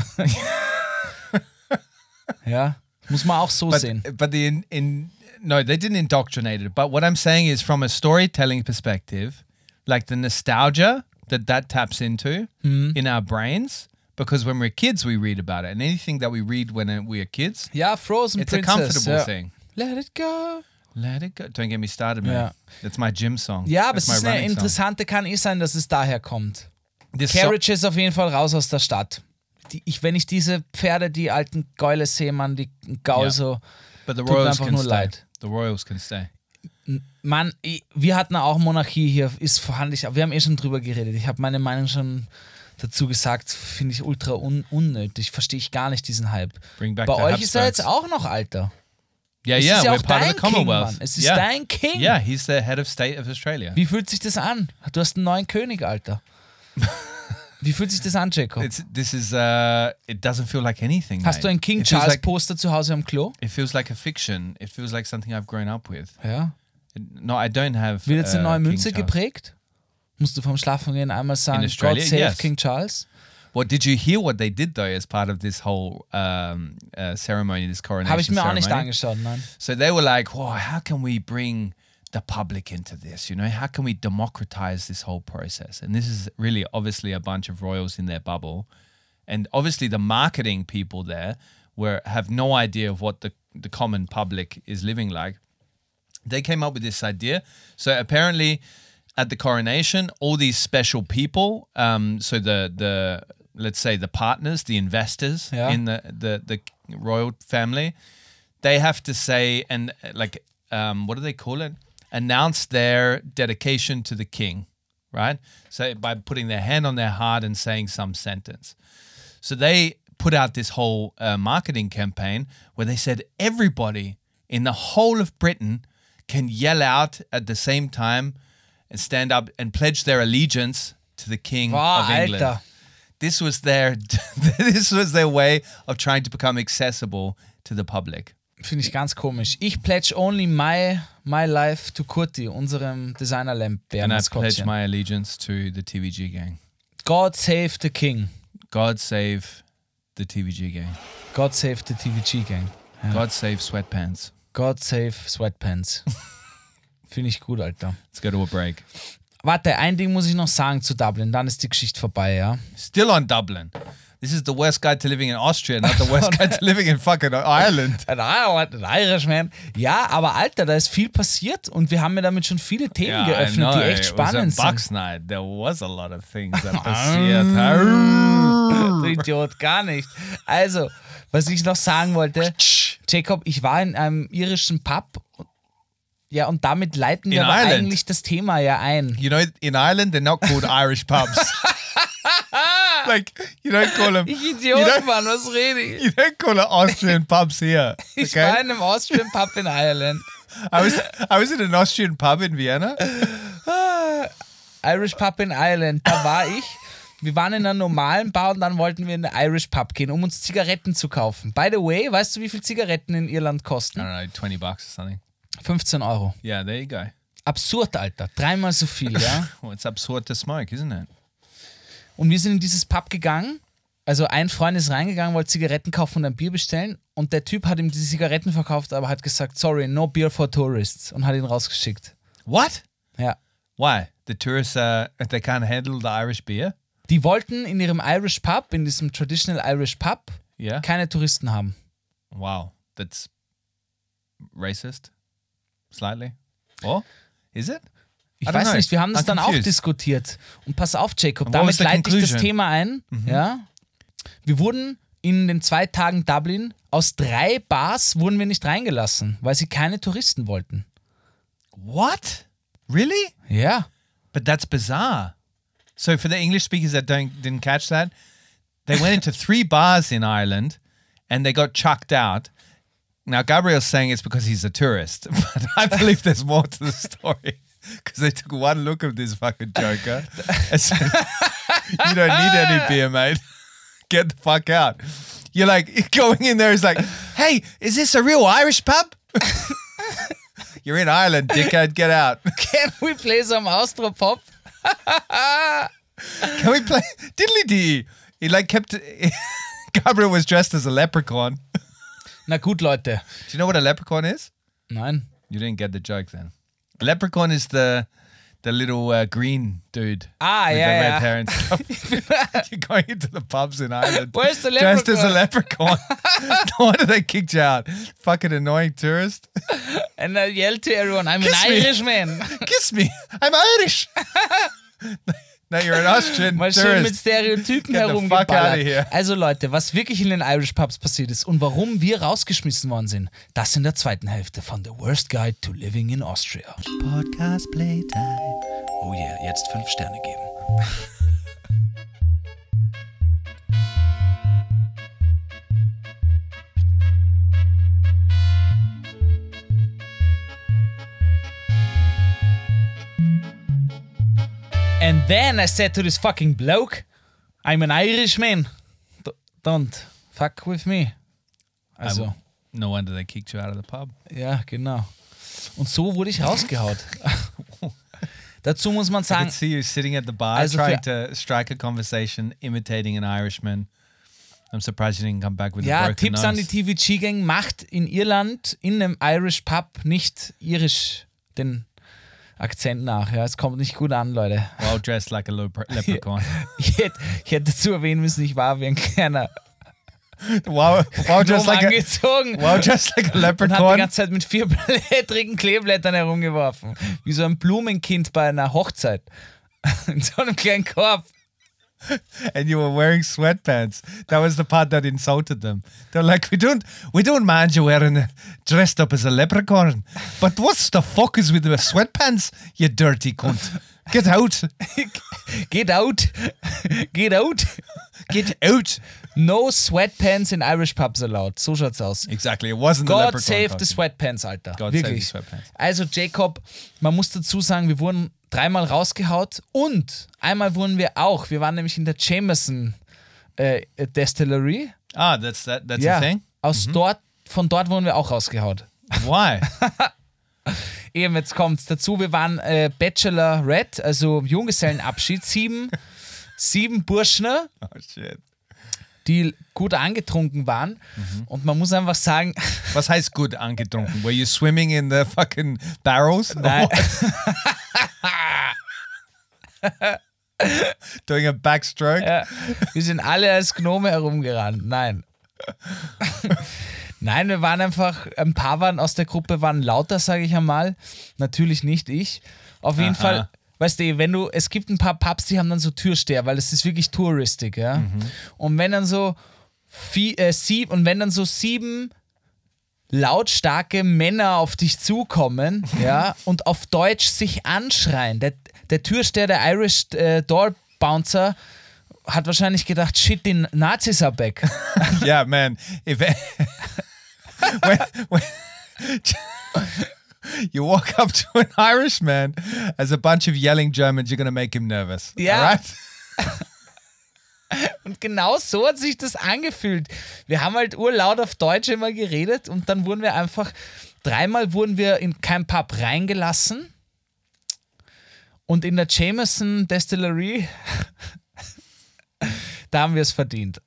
Ja, muss man auch so But, sehen. but the in, in no, they didn't indoctrinate it. But what I'm saying is, from a storytelling perspective, like the nostalgia that that taps into Hmm. in our brains, because when we're kids we read about it, and anything that we read when uh, we are kids, Ja, Frozen it's a Princess. comfortable ja. thing. Let it go. Let it go. Don't get me started, man. Yeah. That's my gym song. Ja, aber That's es my ist eine running song. interessante, kann eh sein, dass es daher kommt. This so- Carriage ist auf jeden Fall raus aus der Stadt. Die, ich, wenn ich diese Pferde, die alten Gäule sehe, man, die Gaul Ja. so. but the tut mir royals einfach can nur stay. leid. The royals can stay. Mann, ich- wir hatten auch Monarchie hier, ist vorhanden. Ich- Wir haben eh schon drüber geredet. Ich habe meine Meinung schon dazu gesagt, finde ich ultra un unnötig. Verstehe ich gar nicht diesen Hype. Bring back Bei the euch ist er Habsburgs. jetzt auch noch Alter. Yeah, Es yeah, ist ja we're auch part of dein the King, Commonwealth. Mann. Es ist yeah. dein King. Yeah, he's the head of state of Australia. Wie fühlt sich das an? Du hast einen neuen König, Alter. Wie fühlt sich das an, Jacob? It's, this is, uh, it doesn't feel like anything. Hast mate. du ein King It feels Charles like- Poster zu Hause am Klo? It feels like a fiction. It feels like something I've grown up with. Ja. No, I don't have. Wird jetzt eine uh, neue King Münze Charles. geprägt? Musst du vom Schlafengehen einmal sagen, God Australia, save yes. King Charles? Well, did you hear what they did though as part of this whole um, uh, ceremony, this coronation Habe ich mir auch nicht ceremony? angeschaut, nein. So they were like, "Wow, how can we bring the public into this? You know, how can we democratize this whole process?" And this is really obviously a bunch of royals in their bubble, and obviously the marketing people there were have no idea of what the the common public is living like. They came up with this idea. So apparently, at the coronation, all these special people, um, so the the let's say the partners, the investors Yeah. in the, the the royal family, they have to say and uh, like um, what do they call it? Announce their dedication to the king, right? So by putting their hand on their heart and saying some sentence. So they put out this whole uh, marketing campaign where they said everybody in the whole of Britain can yell out at the same time and stand up and pledge their allegiance to the king Wow, of England. Alter. This was their this was their way of trying to become accessible to the public. Finde ich ganz komisch. Ich pledge only my, my life to Kurti, unserem Designer-Lamp And I pledge Bärenmaskottchen. my allegiance to the T V G gang. God save the king. God save the T V G gang. God save the T V G gang. God save sweatpants. God save Sweatpants. Finde ich gut, Alter. Let's go to a break. Warte, ein Ding muss ich noch sagen zu Dublin, dann ist die Geschichte vorbei, ja? Still on Dublin. This is the worst guide to living in Austria, not the worst guide to living in fucking Ireland. Ein Ireland, ein Irishman. Ja, aber Alter, da ist viel passiert und wir haben mir damit schon viele Themen Yeah, I geöffnet, know. die echt It was a spannend Bucks sind. night. There was a lot of things that passiert. Du Idiot, gar nicht. Also, was ich noch sagen wollte, Jacob, ich war in einem irischen Pub. Ja, und damit leiten wir In aber Ireland? eigentlich das Thema ja ein. You know, in Ireland, they're not called Irish pubs. Like, you don't call them. Ich You Idiot, don't, Mann, was rede ich? you don't call it Austrian pubs here. Ich war Okay? in einem Austrian Pub in Ireland. I was I was in an Austrian pub in Vienna. Irish Pub in Ireland, da war ich. Wir waren in einer normalen Bar und dann wollten wir in den Irish Pub gehen, um uns Zigaretten zu kaufen. By the way, weißt du, wie viel Zigaretten in Irland I kosten? don't know, twenty bucks or something. fünfzehn Euro. Yeah, there you go. Absurd, Alter. Dreimal so viel, ja? Well, it's absurd to smoke, isn't it? Und wir sind in dieses Pub gegangen. Also ein Freund ist reingegangen, wollte Zigaretten kaufen und ein Bier bestellen. Und der Typ hat ihm diese Zigaretten verkauft, aber hat gesagt, sorry, no beer for tourists. Und hat ihn rausgeschickt. What? Ja. Why? The tourists, uh, they can't handle the Irish beer? Die wollten in ihrem Irish Pub, in diesem Traditional Irish Pub, Yeah. keine Touristen haben. Wow, that's racist, slightly. Oh, is it? Ich I don't weiß know. nicht, wir haben das I'm dann auch confused. diskutiert. Und pass auf, Jacob, And what was damit the leite ich das conclusion? Thema ein. Ja? Wir wurden in den zwei Tagen Dublin, aus drei Bars wurden wir nicht reingelassen, weil sie keine Touristen wollten. What? Really? Ja. But that's bizarre. So for the English speakers that don't didn't catch that, they went into three bars in Ireland, and they got chucked out. Now Gabriel's saying it's because he's a tourist, but I believe there's more to the story because they took one look of this fucking joker and said, "You don't need any beer, mate. Get the fuck out." You're like going in there is like, "Hey, is this a real Irish pub?" You're in Ireland, dickhead. Get out. Can we play some Austropop? Can we play Diddly Dee? He like kept. Gabriel was dressed as a leprechaun. Na gut, Leute. Do you know what a leprechaun is? Nein. You didn't get the joke then. A leprechaun is the the little uh, green dude. Ah, with yeah, the red yeah. hair and stuff. You're going into the pubs in Ireland. Where's the Dressed as a leprechaun? leprechaun. No wonder they kicked you out. Fucking annoying tourist. And I yell to everyone, I'm Kiss an me. Irishman. Kiss me. I'm Irish. No, you're an Austrian Mal schön mit tourist. Stereotypen Get the fuck outta herumgeballert. here. Also Leute, was wirklich in den Irish Pubs passiert ist und warum wir rausgeschmissen worden sind, das in der zweiten Hälfte von The Worst Guide to Living in Austria. Podcast Playtime. Oh yeah, jetzt fünf Sterne geben. And then I said to this fucking bloke, I'm an Irishman. D- don't fuck with me. Also, I- no wonder they kicked you out of the pub. ja, genau. Und so wurde ich rausgehaut. Dazu muss man I sagen, could see you sitting at the bar Also trying für- to strike a conversation, imitating an Irishman. I'm surprised you didn't come back with a ja, broken Tipps nose. an die T V G-Gang, macht in Irland in einem Irish Pub nicht irisch den Akzent nach. Ja, es kommt nicht gut an, Leute. Well dressed like a lepre- leprechaun. Ich hätte, ich hätte dazu erwähnen müssen, ich war wie ein kleiner wow, wow dressed Gnome like a angezogen. wow dressed like a Und hat die leprechaun. ganze Zeit mit vier blättrigen Kleeblättern herumgeworfen. Wie so ein Blumenkind bei einer Hochzeit. In so einem kleinen Korb. And you were wearing sweatpants. That was the part that insulted them. They're like, we don't, we don't mind you wearing uh, dressed up as a leprechaun, but what's the fuck is with the sweatpants, you dirty cunt? Get out, Get out. Get out. get out. No sweatpants in Irish pubs allowed. So schaut's aus. Exactly, it wasn't the God leprechaun. save the costume. sweatpants, Alter. God Wirklich. save the sweatpants. Also Jacob, man muss dazu sagen, wir wurden dreimal rausgehaut und einmal wurden wir auch, wir waren nämlich in der Jameson äh, Distillery. Ah, that's that. That's Ja, a thing. aus dort, von dort wurden wir auch rausgehaut. Why? Eben, jetzt kommt's dazu, wir waren äh, Bachelorette, also Junggesellenabschied, sieben, sieben Burschner, Oh shit. die gut angetrunken waren und man muss einfach sagen, Was heißt gut angetrunken? Were you swimming in the fucking barrels? Or Nein. what? Doing a backstroke? ja, wir sind alle als Gnome herumgerannt. Nein. Nein, wir waren einfach, ein paar waren aus der Gruppe, waren lauter, sage ich einmal. Natürlich nicht ich. Auf jeden Aha. Fall, weißt du, wenn du, es gibt ein paar Pubs, die haben dann so Türsteher, weil es ist wirklich touristig, ja. Und wenn dann so vie, äh, sieb, und wenn dann so sieben lautstarke Männer auf dich zukommen, ja, und auf Deutsch sich anschreien, der, der Türsteher, der Irish äh, Door Bouncer, hat wahrscheinlich gedacht, shit, die Nazis are back. Yeah, man. If when, when you walk up to an Irishman as a bunch of yelling Germans, you're gonna make him nervous. Ja. Alright? Und genau so hat sich das angefühlt. Wir haben halt urlaut auf Deutsch immer geredet und dann wurden wir einfach, dreimal wurden wir in kein Pub reingelassen und in der Jameson Distillery, da haben wir es verdient.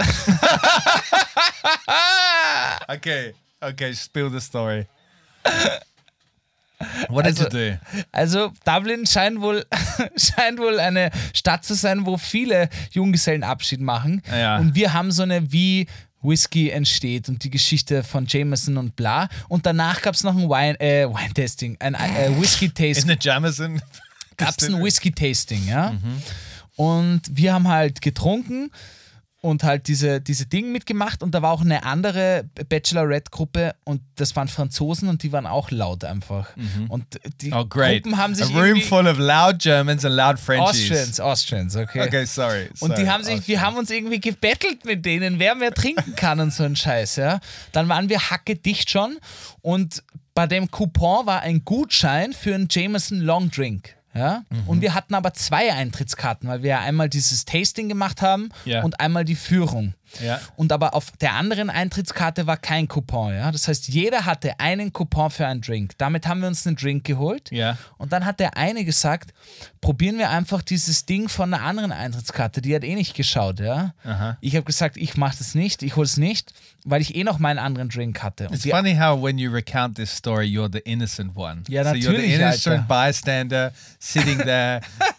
Okay. Okay. Spill the story. What did Also- you do? Also Dublin scheint wohl, scheint wohl eine Stadt zu sein, wo viele Junggesellenabschied machen. Ja. Und wir haben so eine, wie Whisky entsteht und die Geschichte von Jameson und bla. Und danach gab es noch ein Wine, äh, Wine-Tasting, ein äh, In Whisky-Tasting. the Jameson. Gab es ein Whisky-Tasting, ja. Und wir haben halt getrunken und halt diese, diese Dinge mitgemacht und da war auch eine andere Bachelorette-Gruppe und das waren Franzosen und die waren auch laut einfach. Und die Oh, great. Gruppen haben A sich room irgendwie... full of loud Germans and loud Frenchies. Austrians, Austrians, okay. Okay, sorry. Und die sorry. haben sich, wir haben uns irgendwie gebettelt mit denen, wer mehr trinken kann und so ein Scheiß, ja. Dann waren wir hackedicht schon und bei dem Coupon war ein Gutschein für einen Jameson Long Drink. Ja? Und wir hatten aber zwei Eintrittskarten, weil wir ja einmal dieses Tasting gemacht haben Ja. und einmal die Führung. Ja. Und aber auf der anderen Eintrittskarte war kein Coupon. Ja? Das heißt, jeder hatte einen Coupon für einen Drink. Damit haben wir uns einen Drink geholt. Ja. Und dann hat der eine gesagt, probieren wir einfach dieses Ding von einer anderen Eintrittskarte. Die hat eh nicht geschaut. Ja? Aha. Ich habe gesagt, ich mache das nicht, ich hole es nicht, weil ich eh noch meinen anderen Drink hatte. Und It's die, funny how when you recount this story, you're the innocent one. Ja, so you're the natürlich, innocent Alter. bystander sitting there.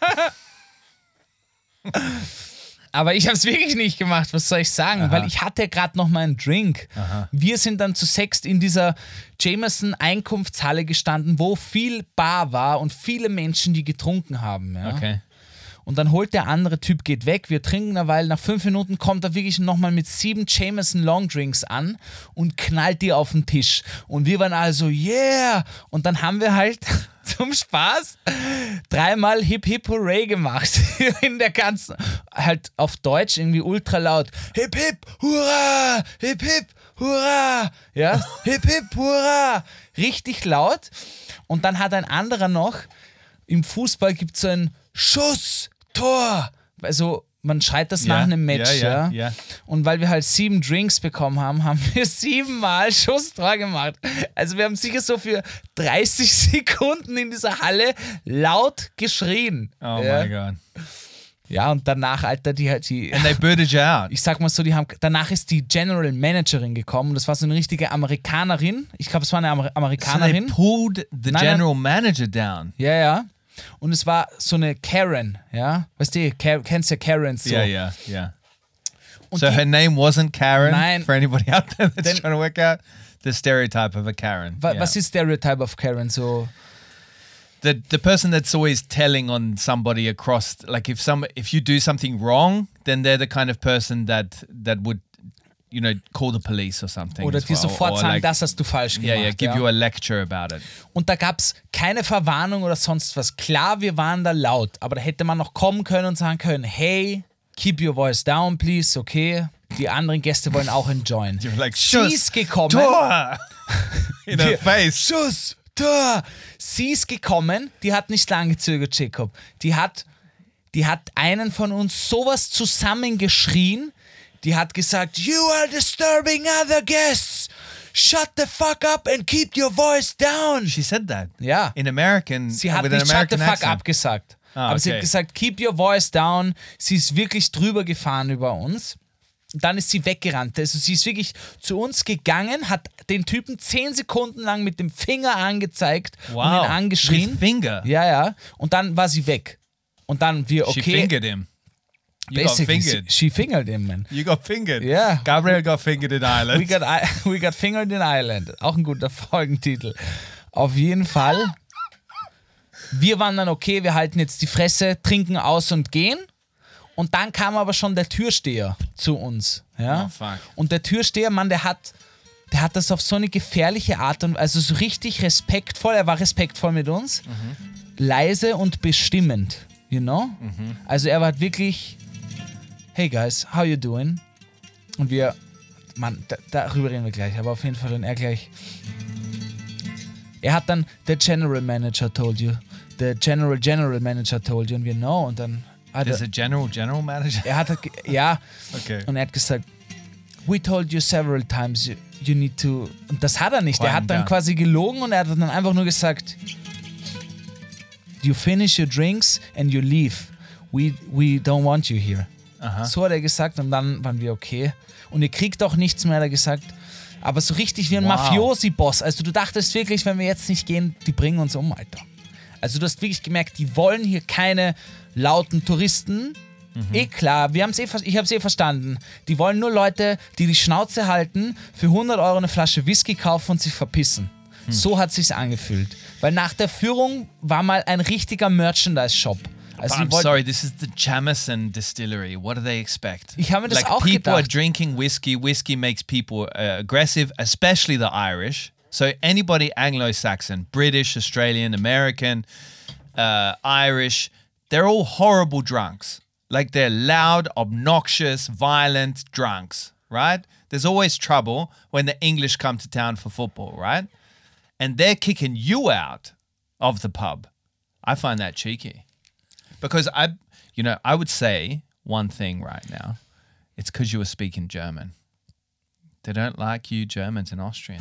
Aber ich habe es wirklich nicht gemacht, was soll ich sagen? Weil ich hatte gerade noch meinen Drink. Wir sind dann zu sechst in dieser Jameson-Einkunftshalle gestanden, wo viel Bar war und viele Menschen, die getrunken haben. Ja? Okay. Und dann holt der andere Typ, geht weg, wir trinken eine Weile, nach fünf Minuten kommt er wirklich nochmal mit sieben Jameson Long Drinks an und knallt die auf den Tisch. Und wir waren alle so, yeah! Und dann haben wir halt zum Spaß dreimal Hip Hip Hooray gemacht. In der ganzen, halt auf Deutsch irgendwie ultra laut. Hip Hip Hurra! Hip Hip Hurra! Ja, Hip Hip Hurra! Richtig laut. Und dann hat ein anderer noch, im Fußball gibt es so ein Schuss, Tor. Also man schreit das Ja, nach einem Match, ja, ja, ja, ja. Und weil wir halt sieben Drinks bekommen haben, haben wir siebenmal Schusstor gemacht. Also wir haben sicher so für dreißig Sekunden in dieser Halle laut geschrien. Oh ja. my God. Ja, und danach, Alter, die halt die. And they booted you out. Ich sag mal so, die haben. Danach ist die General Managerin gekommen. Das war so eine richtige Amerikanerin. Ich glaube, es war eine Amer So they Amerikanerin. pulled the Nein, general manager down. Ja, ja. Und es war so eine Karen, ja. Weißt du, Ka- kennst ja Karens so. Yeah, yeah, yeah. Und So die, her name wasn't Karen. Nein. For anybody out there that's Then- trying to work out the stereotype of a Karen. wa, Yeah. Was ist Stereotype of Karen? So. the the person that's always telling on somebody across, like if some if you do something wrong, then they're the kind of person that that would, you know, call the police or something. Oder as dir well. sofort Or sagen, like, das hast du falsch yeah, gemacht. yeah, give ja. you a lecture about it. Und da gab es keine Verwarnung oder sonst was. Klar, wir waren da laut, aber da hätte man noch kommen können und sagen können, hey, keep your voice down, please, okay? Die anderen Gäste wollen auch enjoyen. You're like, Sie Schuss, ist gekommen. Tor! In her Wir- face. Schuss, Tor. Sie ist gekommen, die hat nicht lange gezögert, Jacob. Die hat, die hat einen von uns sowas zusammengeschrien. Die hat gesagt, you are disturbing other guests. Shut the fuck up and keep your voice down. She said that. Ja. In American, Sie hat with an nicht shut the American fuck accent. up gesagt. Ah, aber sie okay. hat gesagt, keep your voice down. Sie ist wirklich drüber gefahren über uns. Dann ist sie weggerannt. Also sie ist wirklich zu uns gegangen, hat den Typen zehn Sekunden lang mit dem Finger angezeigt und Wow. ihn angeschrien. With finger. Ja, ja. Und dann war sie weg. Und dann wir, okay. She fingered him. You got basically, fingered. she fingered him, man. You got fingered. Yeah. Gabriel got fingered in Ireland. We got, I- we got fingered in Ireland. Auch ein guter Folgentitel. Auf jeden Fall. Wir waren dann okay, wir halten jetzt die Fresse, trinken aus und gehen. Und dann kam aber schon der Türsteher zu uns. Ja? Oh, fuck. Und der Türsteher, Mann, der hat, der hat das auf so eine gefährliche Art und also so richtig respektvoll, er war respektvoll mit uns, leise und bestimmend, you know? Also er war wirklich, hey guys, how you doing? Und wir, Mann, da, darüber reden wir gleich, aber auf jeden Fall, und er gleich, er hat dann, the General Manager told you, the General General Manager told you, und wir, no, und dann hat There's er, a general general manager. er hat, ge- ja, Okay. und er hat gesagt, we told you several times you, you need to, und das hat er nicht, er Quiet hat dann down. quasi gelogen und er hat dann einfach nur gesagt, you finish your drinks and you leave, we, we don't want you here. Aha. So hat er gesagt und dann waren wir okay. Und ihr kriegt auch nichts mehr, hat er gesagt. Aber so richtig wie ein Wow. Mafiosi-Boss. Also du dachtest wirklich, wenn wir jetzt nicht gehen, die bringen uns um, Alter. Also du hast wirklich gemerkt, die wollen hier keine lauten Touristen. Eh klar, wir haben's eh, ver- ich habe es eh verstanden. Die wollen nur Leute, die die Schnauze halten, für hundert Euro eine Flasche Whisky kaufen und sich verpissen. So hat sich's angefühlt. Weil nach der Führung war mal ein richtiger Merchandise-Shop. Also But die I'm wollten- sorry, this is the Jamison Distillery. What do they expect? Ich habe mir das like auch people are gedacht. drinking whiskey. Whiskey makes people uh, aggressive, especially the Irish. So anybody Anglo-Saxon, British, Australian, American, uh, Irish, they're all horrible drunks. Like they're loud, obnoxious, violent drunks, right? There's always trouble when the English come to town for football, right? And they're kicking you out of the pub. I find that cheeky. Because I, you know, I would say one thing right now. It's because you were speaking German. They don't like you Germans and Austrians.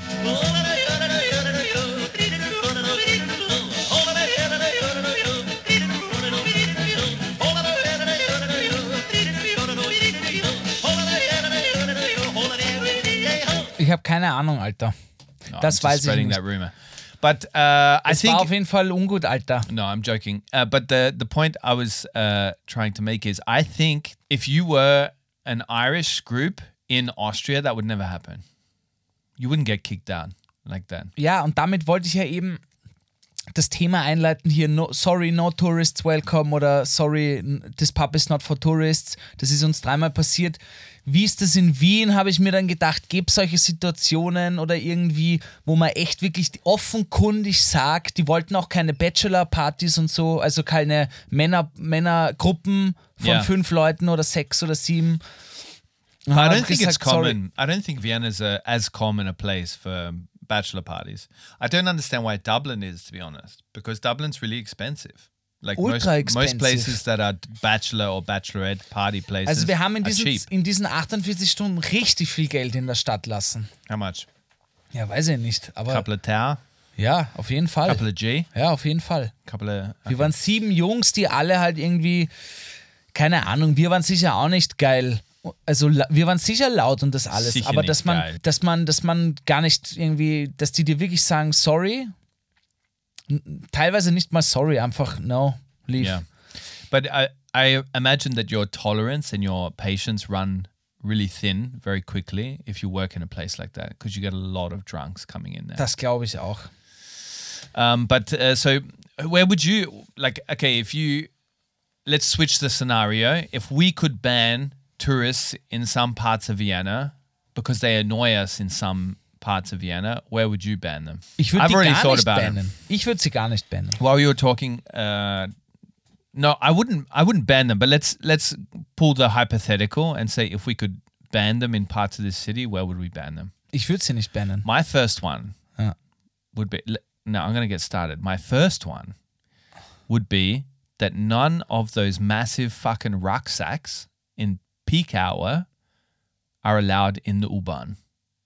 Ich habe keine Ahnung, Alter. No, Das I'm just weiß ich spreading nicht. that rumor. But uh, I Es think war auf jeden Fall ungut, Alter. no, I'm joking. Uh, but the the point I was uh, trying to make is, I think if you were an Irish group in Austria, that would never happen. You wouldn't get kicked down like that. Ja, und damit wollte ich ja eben das Thema einleiten hier, no, sorry, no tourists welcome oder sorry, n- this pub is not for tourists. Das ist uns dreimal passiert. Wie ist das in Wien, habe ich mir dann gedacht, gibt es solche Situationen oder irgendwie, wo man echt wirklich offenkundig sagt, die wollten auch keine Bachelor-Partys und so, also keine Männer, Männergruppen von Ja. fünf Leuten oder sechs oder sieben. Und I haben don't think it's gesagt, sorry. common. I don't think Vienna's a, as common a place for bachelor parties. I don't understand why Dublin is, to be honest, because Dublin's really expensive. like Ultra most, expensive. most places that are bachelor or bachelorette party places Also wir haben in are diesen, cheap. in diesen achtundvierzig Stunden richtig viel Geld in der Stadt lassen. How much? Ja, weiß ich nicht. Aber Couple of Tau, ja, auf jeden Fall. couple of G, Ja, auf jeden Fall. couple of. Wir waren sieben Jungs, die alle halt irgendwie, keine Ahnung, wir waren sicher auch nicht geil. Also la- wir waren sicher laut und das alles, Sicher aber nicht dass man, geil. dass man, dass man gar nicht irgendwie, dass die dir wirklich sagen, sorry, N- teilweise nicht mal sorry, einfach no, leave. Yeah, but I I imagine that your tolerance and your patience run really thin very quickly if you work in a place like that because you get a lot of drunks coming in there. Das glaube ich auch. Um, but uh, so, where would you like? Okay, if you let's switch the scenario. If we could ban tourists in some parts of Vienna because they annoy us in some parts of Vienna, where would you ban them? Ich würde I've die already gar thought nicht about it. bannen. Ich würde sie gar nicht bannen. While you were talking, uh, no, I wouldn't. I wouldn't ban them. But let's let's pull the hypothetical and say if we could ban them in parts of this city, where would we ban them? Ich würde sie nicht bannen. My first one Ja. would be. No, I'm going to get started. My first one would be that none of those massive fucking rucksacks in peak hour are allowed in the U-Bahn.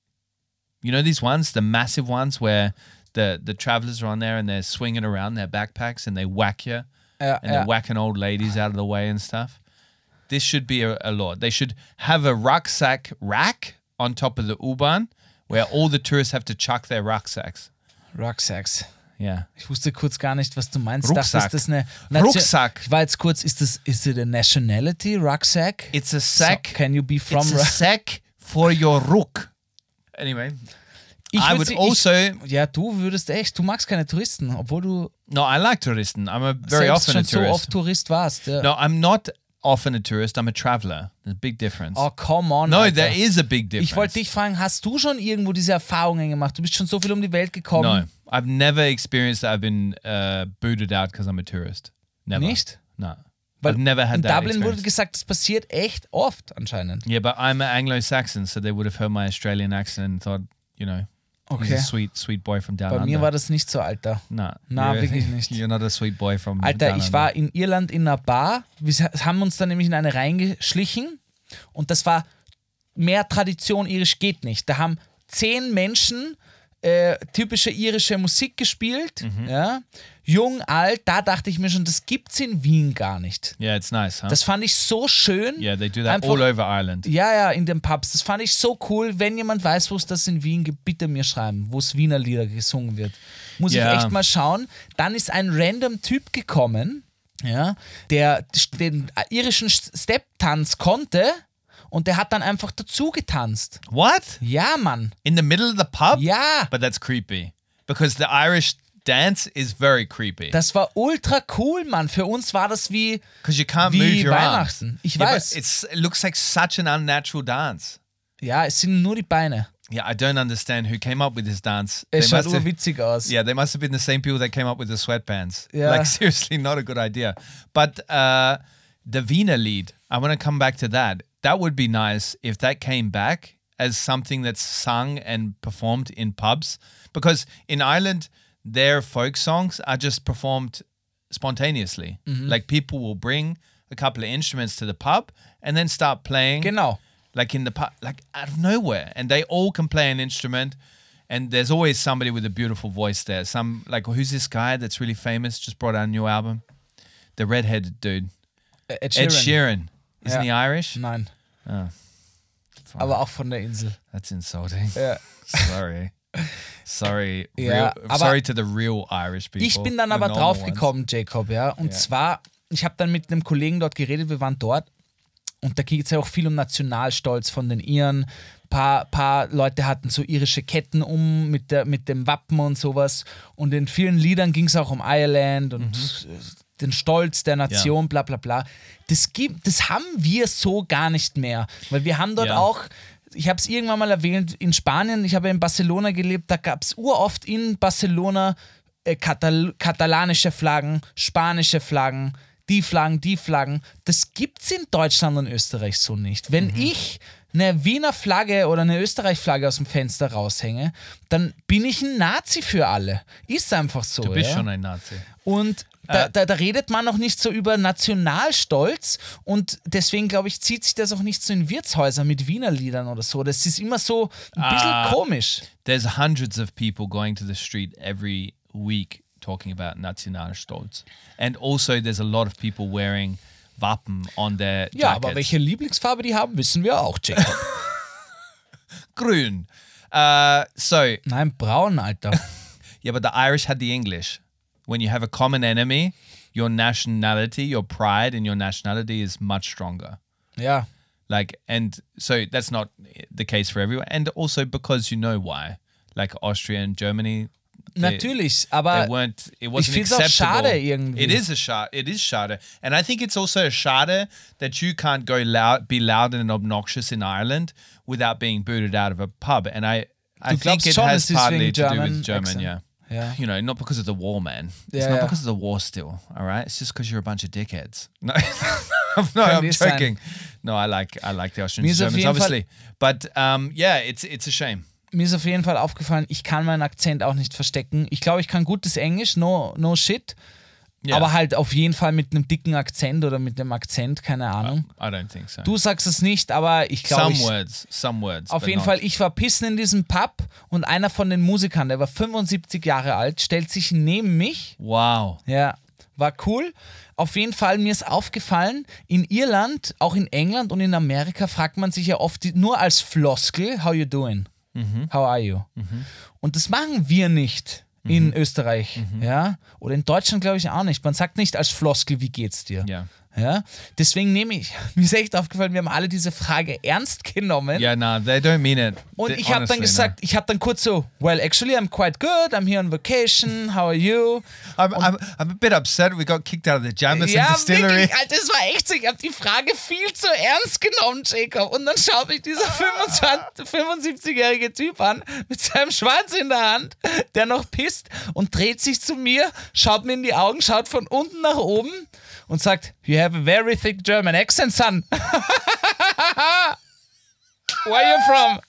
You know these ones, the massive ones where the, the travelers are on there and they're swinging around their backpacks and they whack you Ja, and ja. they're whacking old ladies out of the way and stuff. This should be a, a law. They should have a rucksack rack on top of the U-Bahn where all the tourists have to chuck their rucksacks. Rucksacks. Yeah. Ich wusste kurz gar nicht, was du meinst. Rucksack. Dachte, ist das eine Nation- Rucksack. Ich war jetzt kurz, ist das, is it a nationality, Rucksack? It's a sack. So, can you be from It's a Ru- sack for your ruck. Anyway, Ich I würd would sie- also. Ich, ja, du würdest echt, du magst keine Touristen, obwohl du No, I like touristen. I'm a very selbst often schon a so tourist. oft Tourist warst. Ja. No, I'm not often a tourist. I'm a traveler. There's a big difference. Oh, come on. no, Alter. there is a big difference. Ich wollte dich fragen, hast du schon irgendwo diese Erfahrungen gemacht? Du bist schon so viel um die Welt gekommen. No, I've never experienced that I've been uh, booted out because I'm a tourist. Never. Nicht? No. Weil I've never had in that Dublin wurde experience. gesagt, das passiert echt oft anscheinend. Yeah, but I'm an Anglo-Saxon, so they would have heard my Australian accent and thought, you know, he's Okay. a sweet, sweet boy from down Bei under. mir war das nicht so, Alter. No, Na, you're- wirklich nicht. You're not a sweet boy from Alter, down ich under. war in Irland in einer Bar. Wir haben uns da nämlich in eine reingeschlichen und das war mehr Tradition irisch geht nicht. Da haben zehn Menschen äh, typische irische Musik gespielt. Mhm. Ja? Jung, alt, da dachte ich mir schon, das gibt's in Wien gar nicht. Yeah, it's nice, huh? Das fand ich so schön. yeah, they do that Einfach- all over Ireland. Ja, ja, in den Pubs. Das fand ich so cool. Wenn jemand weiß, wo es das in Wien gibt, bitte mir schreiben, wo es Wiener Lieder gesungen wird. Muss Ja. ich echt mal schauen. Dann ist ein random Typ gekommen, ja, der den irischen Step-Tanz konnte und der hat dann einfach dazu getanzt. What? Ja, Mann. In the middle of the pub? Ja. But that's creepy. Because the Irish dance is very creepy. Das war ultra cool, Mann. Für uns war das wie, Because you can't wie move your Weihnachten. arms. Ich Yeah, but weiß. it's, it looks like such an unnatural dance. Ja, es sind nur die Beine. Yeah, I don't understand who came up with this dance. Es They schaut must have- urwitzig aus. Yeah, they must have been the same people that came up with the sweatpants. Yeah. Like, seriously, not a good idea. But uh, the Wiener Lied, I want to come back to that. That would be nice if that came back as something that's sung and performed in pubs. Because in Ireland, their folk songs are just performed spontaneously. Like, people will bring a couple of instruments to the pub and then start playing. Genau. Like in the pub, like out of nowhere, and they all can play an instrument, and there's always somebody with a beautiful voice there. Some like who's this guy that's really famous? Just brought out a new album, the redheaded dude, Ed Ed Sheeran. Sheeran. Isn't he Ja. Irish? Nein, Oh, aber auch von der Insel. that's insulting. Ja. Sorry, sorry, Ja, real, aber sorry to the real Irish people. Ich bin dann the aber normal drauf ones. gekommen, Jacob, ja. Und zwar, ich habe dann mit einem Kollegen dort geredet, wir waren dort und da geht es ja auch viel um Nationalstolz von den Iren. Ein paar, paar Leute hatten so irische Ketten um mit, der, mit dem Wappen und sowas. Und in vielen Liedern ging es auch um Ireland und Mhm. den Stolz der Nation, bla bla bla. Das, gibt, das haben wir so gar nicht mehr. Weil wir haben dort Ja. auch, ich habe es irgendwann mal erwähnt, in Spanien, ich habe in Barcelona gelebt, da gab es uroft in Barcelona äh, Katal katalanische Flaggen, spanische Flaggen, die Flaggen, die Flaggen. Das gibt's in Deutschland und Österreich so nicht. Wenn ich eine Wiener Flagge oder eine Österreich-Flagge aus dem Fenster raushänge, dann bin ich ein Nazi für alle. Ist einfach so. Du bist ja? schon ein Nazi. Und da, Äh. da, da redet man noch nicht so über Nationalstolz und deswegen, glaube ich, zieht sich das auch nicht so in Wirtshäusern mit Wiener Liedern oder so. Das ist immer so ein bisschen Ah. komisch. There's hundreds of people going to the street every week talking about Nationalstolz. And also there's a lot of people wearing Wappen on their jackets. Ja, aber welche Lieblingsfarbe die haben, wissen wir auch, Jacob. Grün. Uh, so, Nein, braun, Alter. yeah, but the Irish had the English. When you have a common enemy, your nationality, your pride in your nationality is much stronger. Ja. Like, and so that's not the case for everyone. And also because you know why. Like Austria and Germany, they- Natürlich, they aber weren't. It wasn't find's auch acceptable. schade irgendwie. It is a shade. It is shade, and I think it's also a shade that you can't go loud, be loud and obnoxious in Ireland without being booted out of a pub. And I, I Du think glaubst it schon, has es ist partly wegen to do German with German. accent. Yeah. Ja. You know, not because of the war, man. It's Yeah, not yeah. because of the war still, all right? It's just because you're a bunch of dickheads. No, no, I'm Könnte sein. joking. No, I like I like the Mir Austrians ist and auf Germans, jeden Fall- obviously. But um, yeah, it's it's a shame. mir ist auf jeden Fall aufgefallen, ich kann meinen Akzent auch nicht verstecken. Ich glaube, ich kann gutes Englisch, no, no shit. Yeah. Aber halt auf jeden Fall mit einem dicken Akzent oder mit einem Akzent, keine Ahnung. I don't think so. Du sagst es nicht, aber ich glaube, some ich, words, some words. auf but jeden not. Fall, ich war pissen in diesem Pub und einer von den Musikern, der war fünfundsiebzig Jahre alt, stellt sich neben mich. Wow. Ja, war cool. Auf jeden Fall, mir ist aufgefallen, in Irland, auch in England und in Amerika fragt man sich ja oft die, nur als Floskel, how you doing? How are you? Und das machen wir nicht in Österreich, ja, oder in Deutschland glaube ich auch nicht. Man sagt nicht als Floskel, wie geht's dir? Yeah. Ja, deswegen nehme ich, mir ist echt aufgefallen, wir haben alle diese Frage ernst genommen. Yeah, no, they don't mean it. Und They- ich habe dann honestly, gesagt, ich habe dann kurz so, well, actually, I'm quite good, I'm here on vacation, how are you? no. I'm, I'm, I'm a bit upset. We got kicked out of the Jameson Ja, distillery. wirklich, Alter, das war echt so, ich habe die Frage viel zu ernst genommen, Jacob. Und dann schaut mich dieser fünfundzwanzig fünfundsiebzigjährige Typ an, mit seinem Schwanz in der Hand, der noch pisst und dreht sich zu mir, schaut mir in die Augen, schaut von unten nach oben und sagt, you have a very thick German accent, son. Where are you from?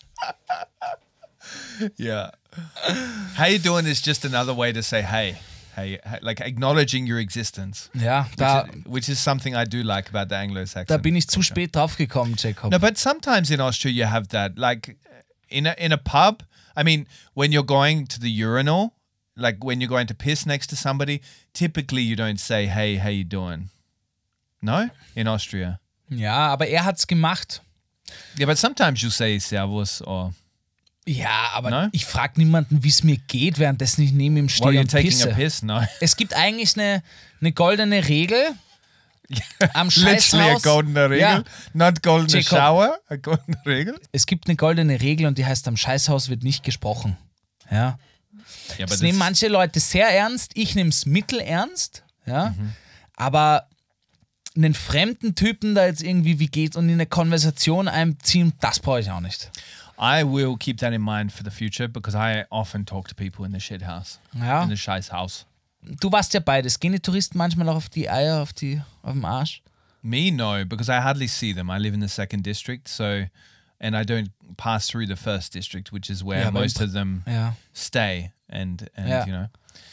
Yeah. How you doing is just another way to say hey. Hey, hey, like acknowledging your existence. Ja, da, which, is, which is something I do like about the Anglo-Saxon. da bin ich zu culture. spät draufgekommen, Jacob. No, but sometimes in Austria you have that. Like in a in a pub, I mean, when you're going to the urinal, like when you're going to piss next to somebody, typically you don't say, hey, how you doing? No? In Austria. Ja, aber er hat's gemacht. Yeah, but sometimes you say servus or Ja, aber Ne? ich frage niemanden, wie es mir geht, währenddessen ich neben ihm while stehe you're und taking pisse. a piss. No. Es gibt eigentlich eine, eine goldene Regel am Literally a Scheißhaus. golden Regel. Ja, Not golden Jacob. shower, a golden Regel. es gibt eine goldene Regel und die heißt, am Scheißhaus wird nicht gesprochen. Ja. Yeah, Das but nehmen it's- manche Leute sehr ernst, ich nehme es mittelernst, ja. Mhm. Aber einen fremden Typen da jetzt irgendwie, wie geht's, und in eine Konversation einziehen, das brauche ich auch nicht. I will keep that in mind for the future because I often talk to people in the shit house. Ja. In the scheiß house. Du warst ja beides. Gehen die Touristen manchmal auch auf die Eier, auf, die, auf den Arsch? Me, no, because I hardly see them. I live in the second district, so, and I don't pass through the first district, which is where Yeah, but- most of them Ja. stay. And, and Yeah. you know.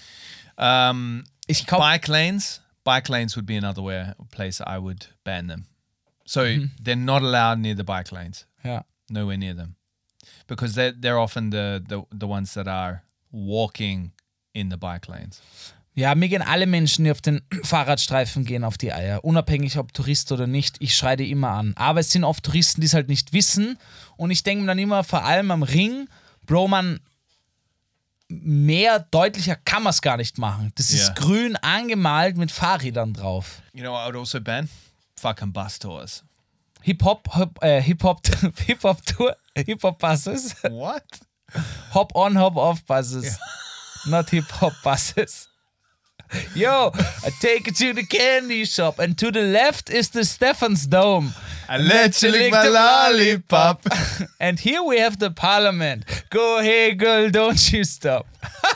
Um, Ich glaube, bike lanes, bike lanes would be another where, place I would ban them. So they're not allowed near the bike lanes, ja. nowhere near them. Because they're, they're often the, the, the ones that are walking in the bike lanes. Ja, mir gehen alle Menschen, die auf den Fahrradstreifen gehen, auf die Eier. Unabhängig, ob Tourist oder nicht. Ich schreie die immer an. Aber es sind oft Touristen, die es halt nicht wissen. Und ich denke mir dann immer, vor allem am Ring, Bro, man, mehr deutlicher kann man es gar nicht machen. Das ist Ja. grün angemalt mit Fahrrädern drauf. You know what I would also ban? Fucking bus tours. Hip-Hop, Hip, äh, Hip-Hop, Hip-Hop-Tour, Hip-Hop-Buses. What? Hop-on, Hop-off-Buses. Not Hip-Hop-Buses. Yo, I take it to the candy shop and to the left is the Stefan's Dome. I let you lick my lollipop. And here we have the parliament. Go, hey girl, don't you stop.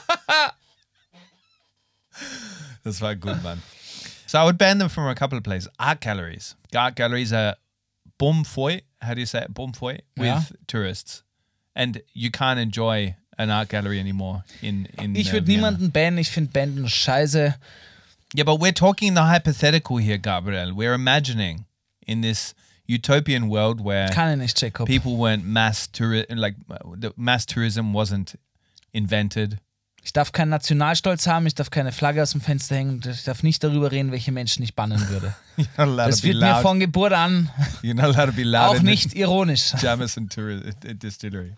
Das war gut, man. So I would ban them from a couple of places. Art galleries. Art galleries are bom foi, how do you say it? Bom foi with Yeah. tourists. And you can't enjoy an art gallery anymore in, in Ich uh, würde Vienna. niemanden bannen, ich finde Banden scheiße. Yeah, but we're talking the hypothetical here, Gabriel. We're imagining in this utopian world where Kann ich nicht, Jacob. people weren't mass touri- like uh, the mass tourism wasn't invented. Ich darf keinen Nationalstolz haben, ich darf keine Flagge aus dem Fenster hängen, ich darf nicht darüber reden, welche Menschen ich bannen würde. You're not allowed Das to be wird mir loud. von Geburt an You're not allowed to be loud auch in nicht ironisch. the Jameson tour- uh, distillery.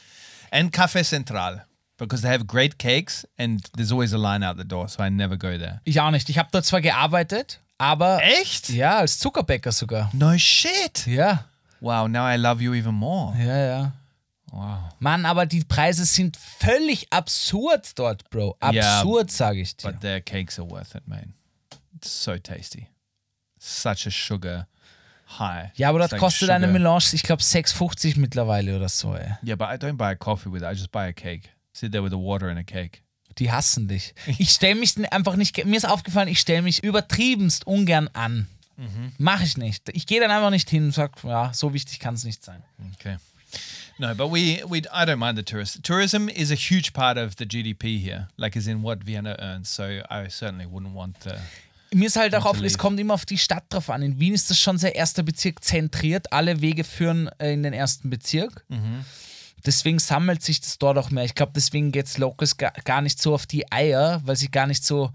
And Café Central, because they have great cakes and there's always a line out the door, so I never go there. Ich auch nicht. Ich habe dort zwar gearbeitet, aber Echt? ja, als Zuckerbäcker sogar. No shit. Ja, Wow, now I love you even more. ja, ja. Wow. Mann, aber die Preise sind völlig absurd dort, Bro. Ja, Absurd, sage ich dir. But their cakes are worth it, man. It's so tasty. Such a sugar high. Ja, aber It's dort like kostet sugar. eine Melange, ich glaube, sechs fünfzig mittlerweile oder so, ey. Yeah, but I don't buy a coffee with it. I just buy a cake. Sit there with a water and a cake. Die hassen dich. Ich stelle mich einfach nicht, mir ist aufgefallen, ich stelle mich übertriebenst ungern an. Mhm. Mach ich nicht. Ich gehe dann einfach nicht hin und sage, ja, so wichtig kann es nicht sein. Okay. No, but we, we I don't mind the tourist. Tourism is a huge part of the G D P here, like as in what Vienna earns. So I certainly wouldn't want to. Mir ist halt auch to auf, es leave. kommt immer auf die Stadt drauf an. In Wien ist das schon sehr erster Bezirk zentriert. Alle Wege führen äh, in den ersten Bezirk. Mhm. Deswegen sammelt sich das dort auch mehr. Ich glaube, deswegen geht es Locals gar, gar nicht so auf die Eier, weil sie gar nicht so.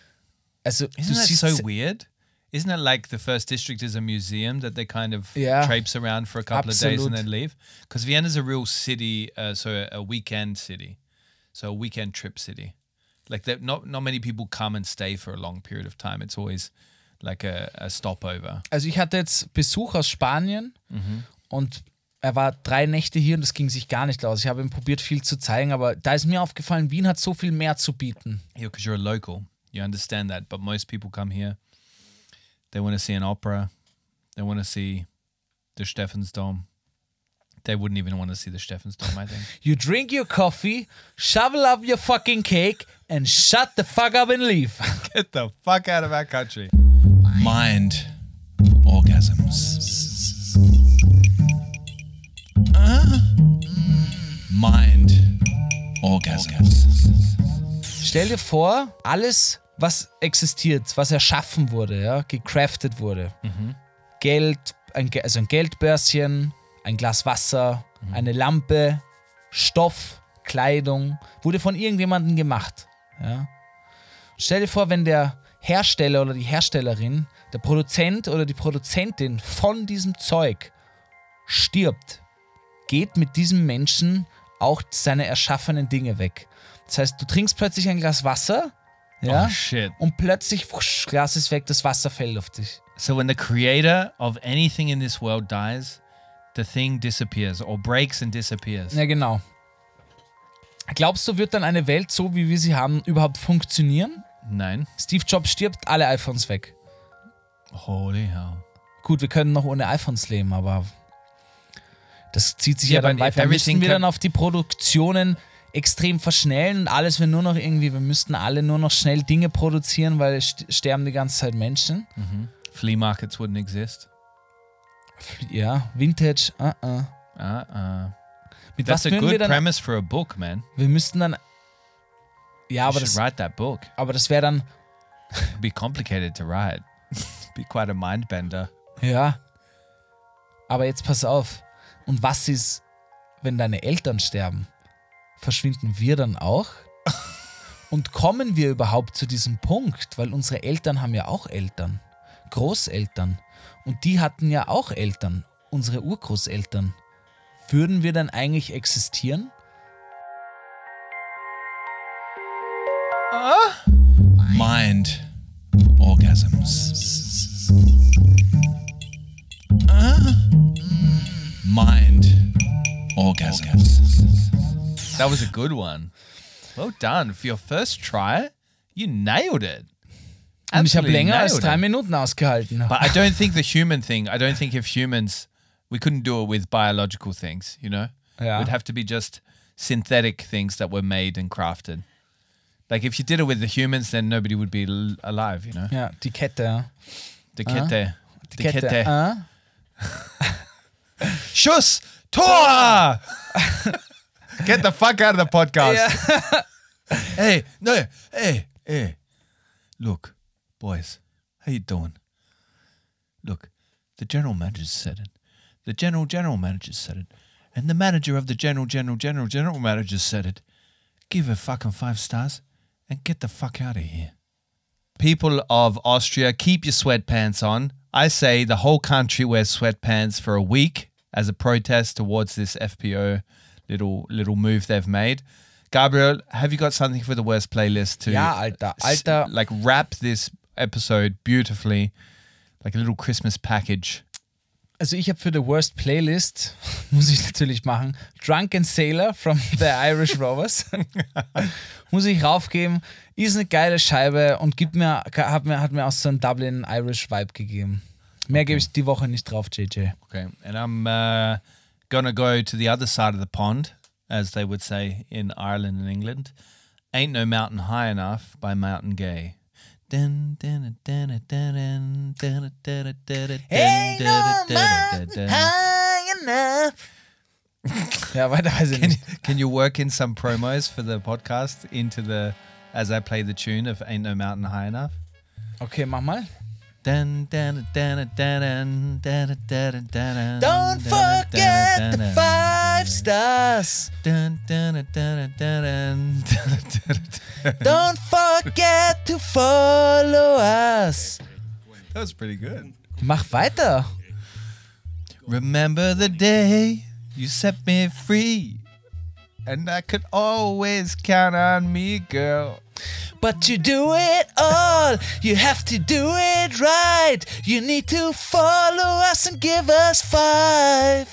Also, Isn't du that siehst. so weird? Isn't it like the first district is a museum that they kind of Yeah. traipse around for a couple of days Absolut. and then leave? Because Vienna's a real city, uh, so a weekend city, so a weekend trip city. Like that, not not many people come and stay for a long period of time. It's always like a, a stopover. Also, ich hatte jetzt Besuch aus Spanien Mhm. und er war drei Nächte hier und das ging sich gar nicht aus. Ich habe ihm probiert, viel zu zeigen, aber da ist mir aufgefallen, Wien hat so viel mehr zu bieten. Yeah, because you're a local, you understand that. But most people come here. They want to see an opera. They want to see the Stephansdom. They wouldn't even want to see the Stephansdom, I think. You drink your coffee, shovel up your fucking cake and shut the fuck up and leave. Get the fuck out of our country. Mind orgasms. Uh, mind orgasms. Stell dir vor, alles, was existiert, was erschaffen wurde, ja, gecraftet wurde. Geld, ein, Ge- also ein Geldbörschen, ein Glas Wasser, eine Lampe, Stoff, Kleidung, wurde von irgendjemandem gemacht. Ja. Stell dir vor, wenn der Hersteller oder die Herstellerin, der Produzent oder die Produzentin von diesem Zeug stirbt, geht mit diesem Menschen auch seine erschaffenen Dinge weg. Das heißt, du trinkst plötzlich ein Glas Wasser, ja, Oh, shit. und plötzlich, wusch, Glas ist weg, das Wasser fällt auf dich. So when the creator of anything in this world dies, the thing disappears or breaks and disappears. Ja, genau. Glaubst du, wird dann eine Welt, so wie wir sie haben, überhaupt funktionieren? Nein. Steve Jobs stirbt, alle iPhones weg. Holy hell. Gut, wir können noch ohne iPhones leben, aber das zieht sich Ja, ja dann but if weiter. Müssten everything wir can- dann auf die Produktionen extrem verschnellen und alles wir nur noch irgendwie, wir müssten alle nur noch schnell Dinge produzieren, weil es st- sterben die ganze Zeit Menschen. Flea markets wouldn't exist. Ja, Vintage, uh -uh. Uh-uh. Mit That's was a würden wir good dann? premise for a book, man. Wir müssten dann. Ja, You aber should das, write that book. aber das wäre dann. It'd be complicated to write. Be quite a mind bender. Ja. Aber jetzt pass auf. Und was ist, wenn deine Eltern sterben? Verschwinden wir dann auch? Und kommen wir überhaupt zu diesem Punkt? Weil unsere Eltern haben ja auch Eltern. Großeltern. Und die hatten ja auch Eltern. Unsere Urgroßeltern. Würden wir dann eigentlich existieren? Mind orgasms. Uh, mind orgasms. That was a good one. Well done. For your first try, you nailed it. Und ich habe Absolutely länger als nailed drei it. Minuten ausgehalten. But I don't think the human thing, I don't think if humans, we couldn't do it with biological things, you know? Ja. It would have to be just synthetic things that were made and crafted. Like if you did it with the humans, then nobody would be l- alive, you know? Ja, die Kette. Ja. The kette. Die The Kette. kette. Ah. Schuss! Tor! Get the fuck out of the podcast. Ja. Hey, no, hey, hey. Look, boys, how you doing? Look, the general manager said it. The general general manager said it. And the manager of the general general general general manager said it. Give her fucking five stars and get the fuck out of here. People of Austria, keep your sweatpants on. I say the whole country wears sweatpants for a week as a protest towards this F P O little little move they've made. Gabriel, have you got something for the worst playlist to Ja, Alter, Alter. s- like wrap this episode beautifully, like a little Christmas package? Also ich habe für The Worst Playlist, muss ich natürlich machen, Drunken Sailor from the Irish Rovers. Muss ich raufgeben. Ist eine geile Scheibe und gibt mir, hat, mir, hat mir auch so einen Dublin Irish Vibe gegeben. Mehr gebe ich die Woche nicht drauf, J J. Okay, and I'm uh, gonna go to the other side of the pond, as they would say in Ireland and England. Ain't No Mountain High Enough by Mountain Gay. Dun, dun, dun, dun, dun, dun, dun, dun, dun, Ain't no dun, dun, mountain dun, dun. high enough. Ja, weiter weiß ich Can you, nicht. can you work in some promos for the podcast into the as I play the tune of Ain't No Mountain High Enough? Okay, mach mal. Dun, dun, dun, dun, dun, dun, dun, dun, Don't forget the five stars. Dun, dun, dun, dun, dun, dun, dun. Don't forget to follow us. That was pretty good. Mach weiter. Remember the day you set me free, and I could always count on me, girl. But you do it all. You have to do it right. You need to follow us and give us five.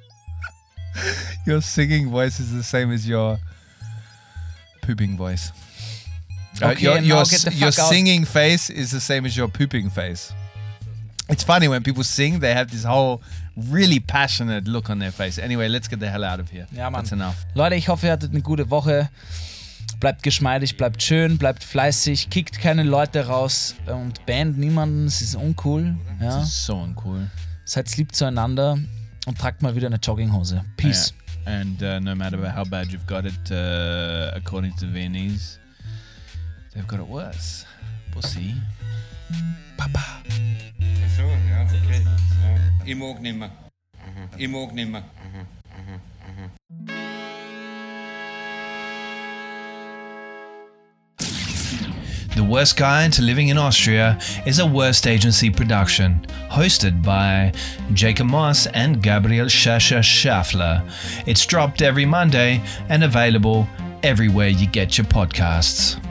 Your singing voice is the same as your pooping voice. Uh, Okay, your and your, now get the s- your fuck out. singing face is the same as your pooping face. It's funny when people sing, they have this whole really passionate look on their face. Anyway, let's get the hell out of here. Ja, Mann. That's enough. Leute, ich hoffe, ihr hattet eine gute Woche. Bleibt geschmeidig, bleibt schön, bleibt fleißig, kickt keine Leute raus und bannt niemanden, es ist uncool. Ja. This is so uncool. Seid lieb zueinander und tragt mal wieder eine Jogginghose. Peace. Yeah. And uh, no matter how bad you've got it, uh, according to the Viennese, they've got it worse. Pussy. Papa. Ach so, ja, okay. Ja. Ich mag nimmer. Ich mag nimmer. The Worst Guide to Living in Austria is a Worst Agency production, hosted by Jacob Moss and Gabriel Schascher Schaffler. It's dropped every Monday and available everywhere you get your podcasts.